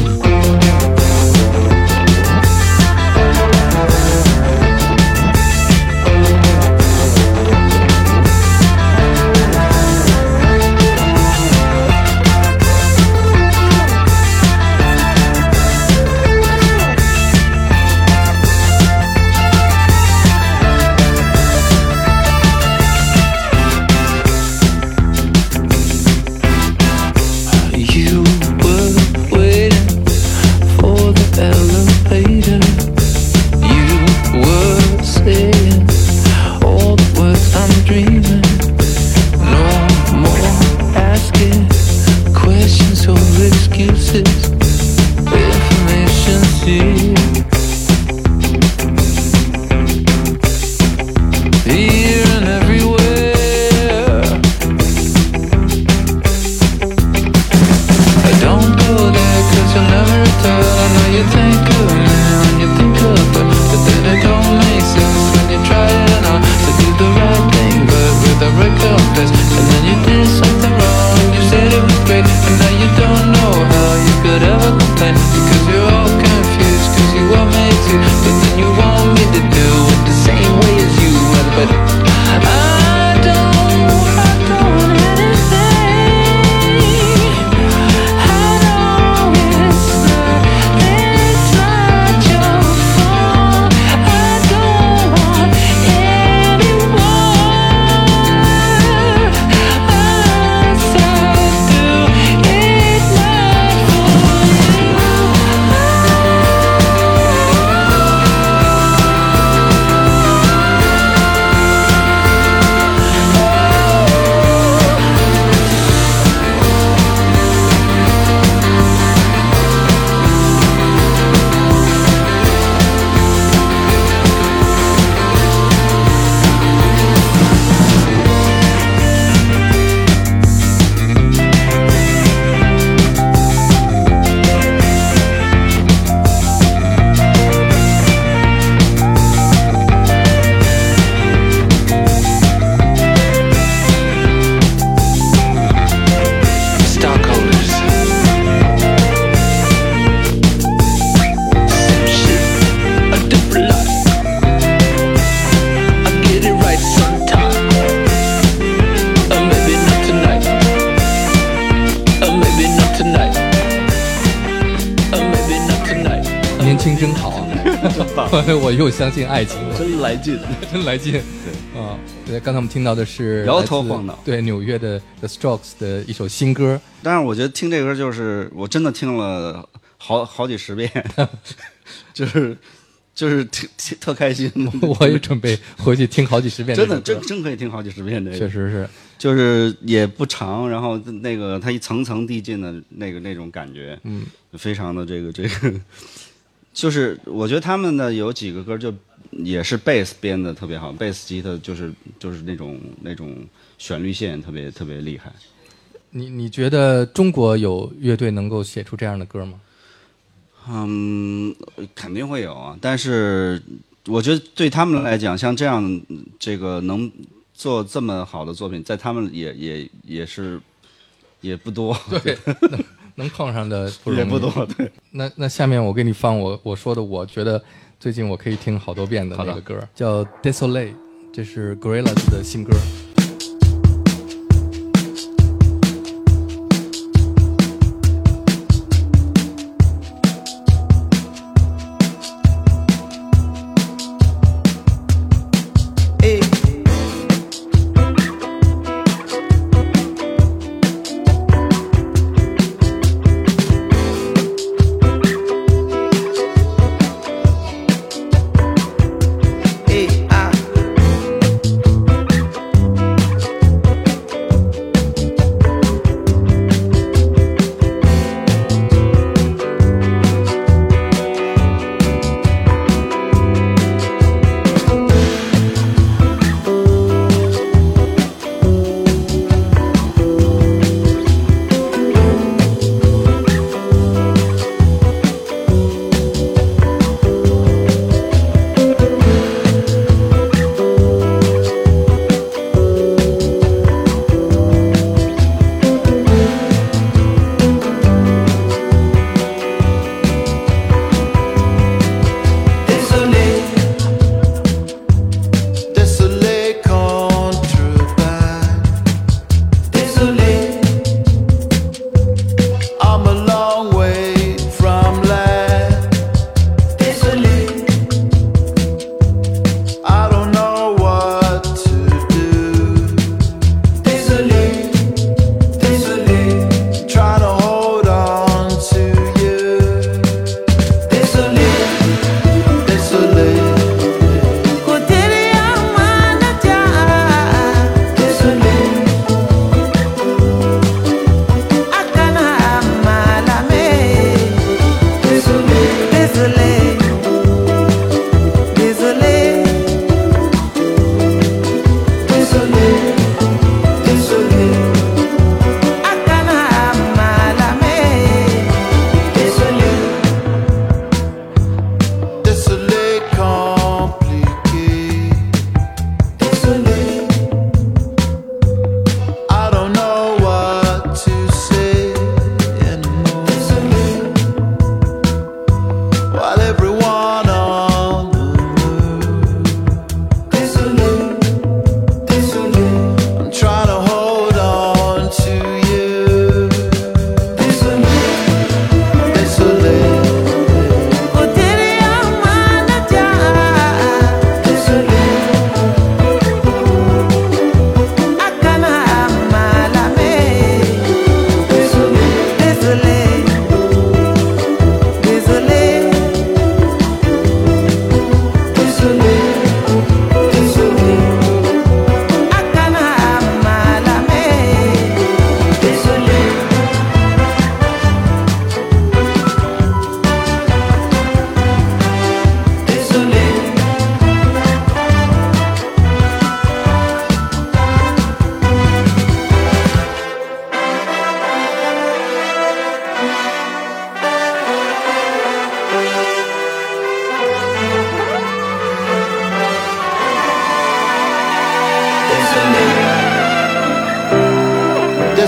我又相信爱情， 真来劲， 真来劲。 对啊，刚才我们听到的是摇头晃脑， 对纽约的 The Strokes 的一首新歌。 当然，我觉得听这歌就是我真的听了好几十遍，就是挺特开心。 我也准备回去听好几十遍， 真的真可以听好几十遍这个。 确实是， 就是也不长，然后那个它一层层递进的那种感觉，非常的这个。就是我觉得他们的有几个歌就也是贝斯编的特别好，贝斯吉他就是那种旋律线特别厉害。 你觉得中国有乐队能够写出这样的歌吗？ 肯定会有啊，但是我觉得对他们来讲，像这样这个能做这么好的作品，在他们也不多。 对。能碰上的也不多，对。 那下面我给你放我说的，我觉得最近我可以听好多遍的那个歌，叫 Desolate， 这是 Gorillaz 的新歌。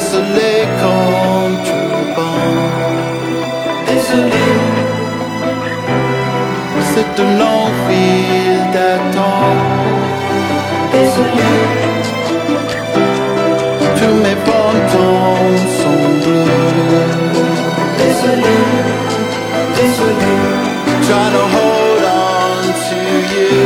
Désolé contrebande. Désolé, c'est un long fil d'attente. Désolé, tous mes pantons sont bleus. Désolé, désolé, trying to hold on to you.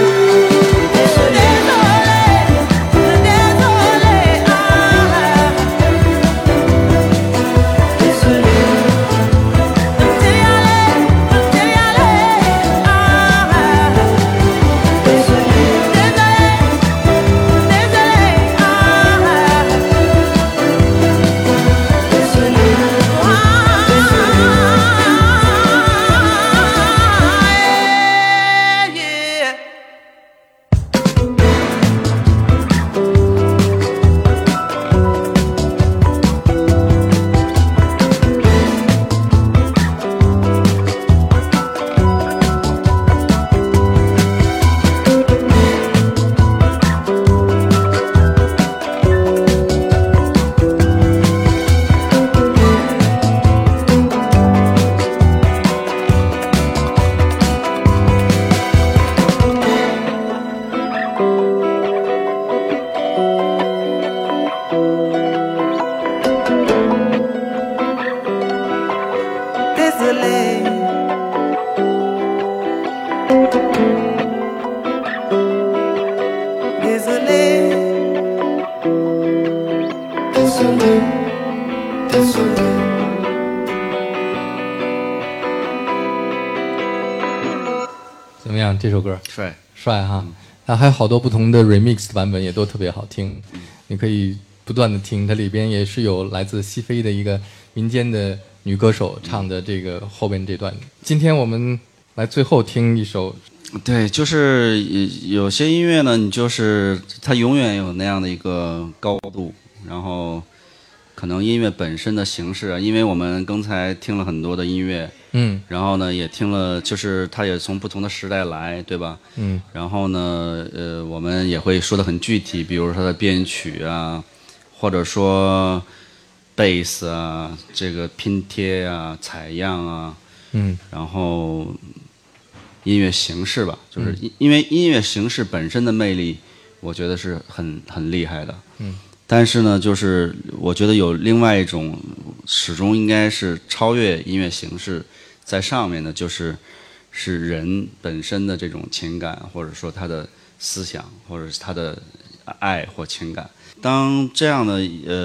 怎么样？这首歌帅帅哈！它还有好多不同的 remix 的版本，也都特别好听。你可以不断的听，它里边也是有来自西非的一个民间的女歌手唱的这个后边这段。今天我们来最后听一首。 对，就是有些音乐呢，你就是它永远有那样的一个高度，然后可能音乐本身的形式啊，因为我们刚才听了很多的音乐，然后呢也听了，就是它也从不同的时代来，对吧？然后呢，我们也会说得很具体，比如说它的编曲啊，或者说贝斯啊，这个拼贴啊、采样啊，然后音乐形式吧，就是因为音乐形式本身的魅力，我觉得是很厉害的。但是呢，就是我觉得有另外一种始终应该是超越音乐形式在上面的，是人本身的这种情感，或者说他的思想，或者是他的爱或情感。当这样的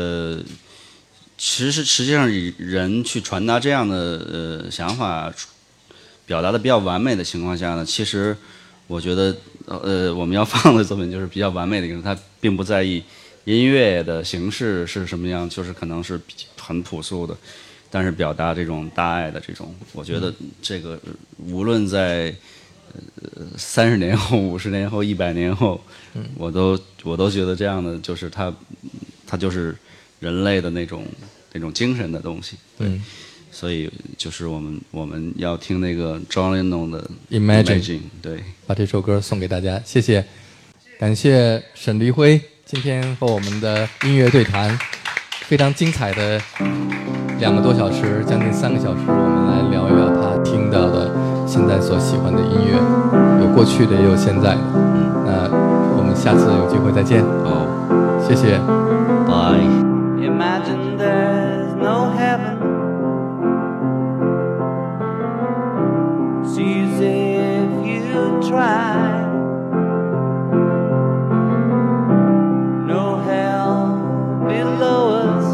实际上人去传达这样的想法，表达的比较完美的情况下呢，其实我觉得我们要放的作品就是比较完美的一个，他并不在意音乐的形式是什么样，就是可能是很朴素的，但是表达这种大爱的这种，我觉得这个无论在30年后、50年后、100年后，我都觉得这样的就是它就是人类的那种精神的东西。对，所以就是我们要听那个 John Lennon 的 Imagine， 对， 把这首歌送给大家，谢谢，感谢沈黎辉今天和我们的音乐对谈，非常精彩的2个多小时，将近3个小时，我们来聊一聊他听到的现在所喜欢的音乐，有过去的也有现在的。那我们下次有机会再见。谢谢。 Bye. Imagine there's no heaven. It's easy if you try. No hell below us.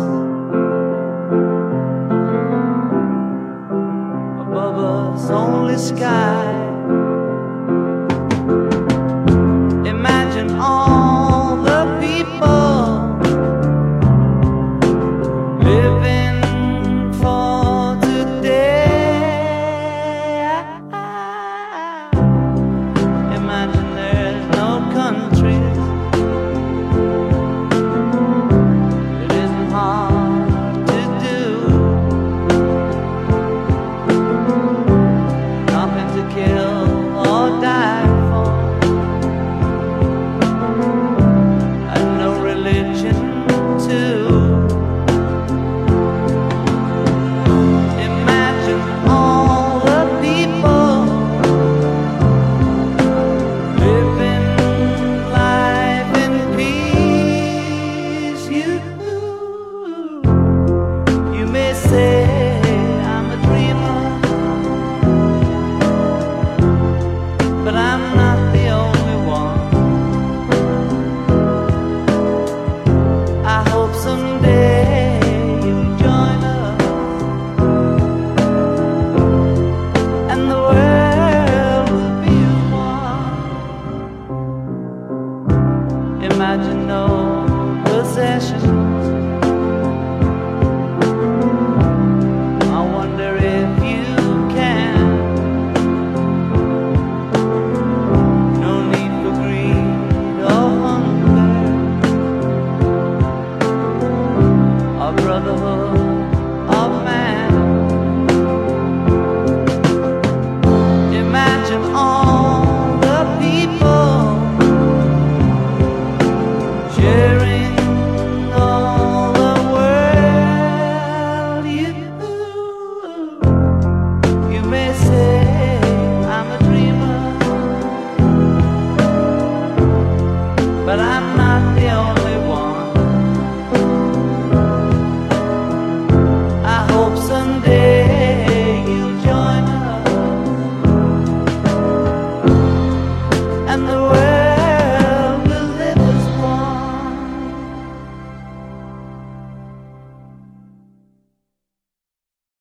Above us only sky. Imagine all the people living for today. Imagine there's no countries. It isn't hard to do. Nothing to Fatherhood.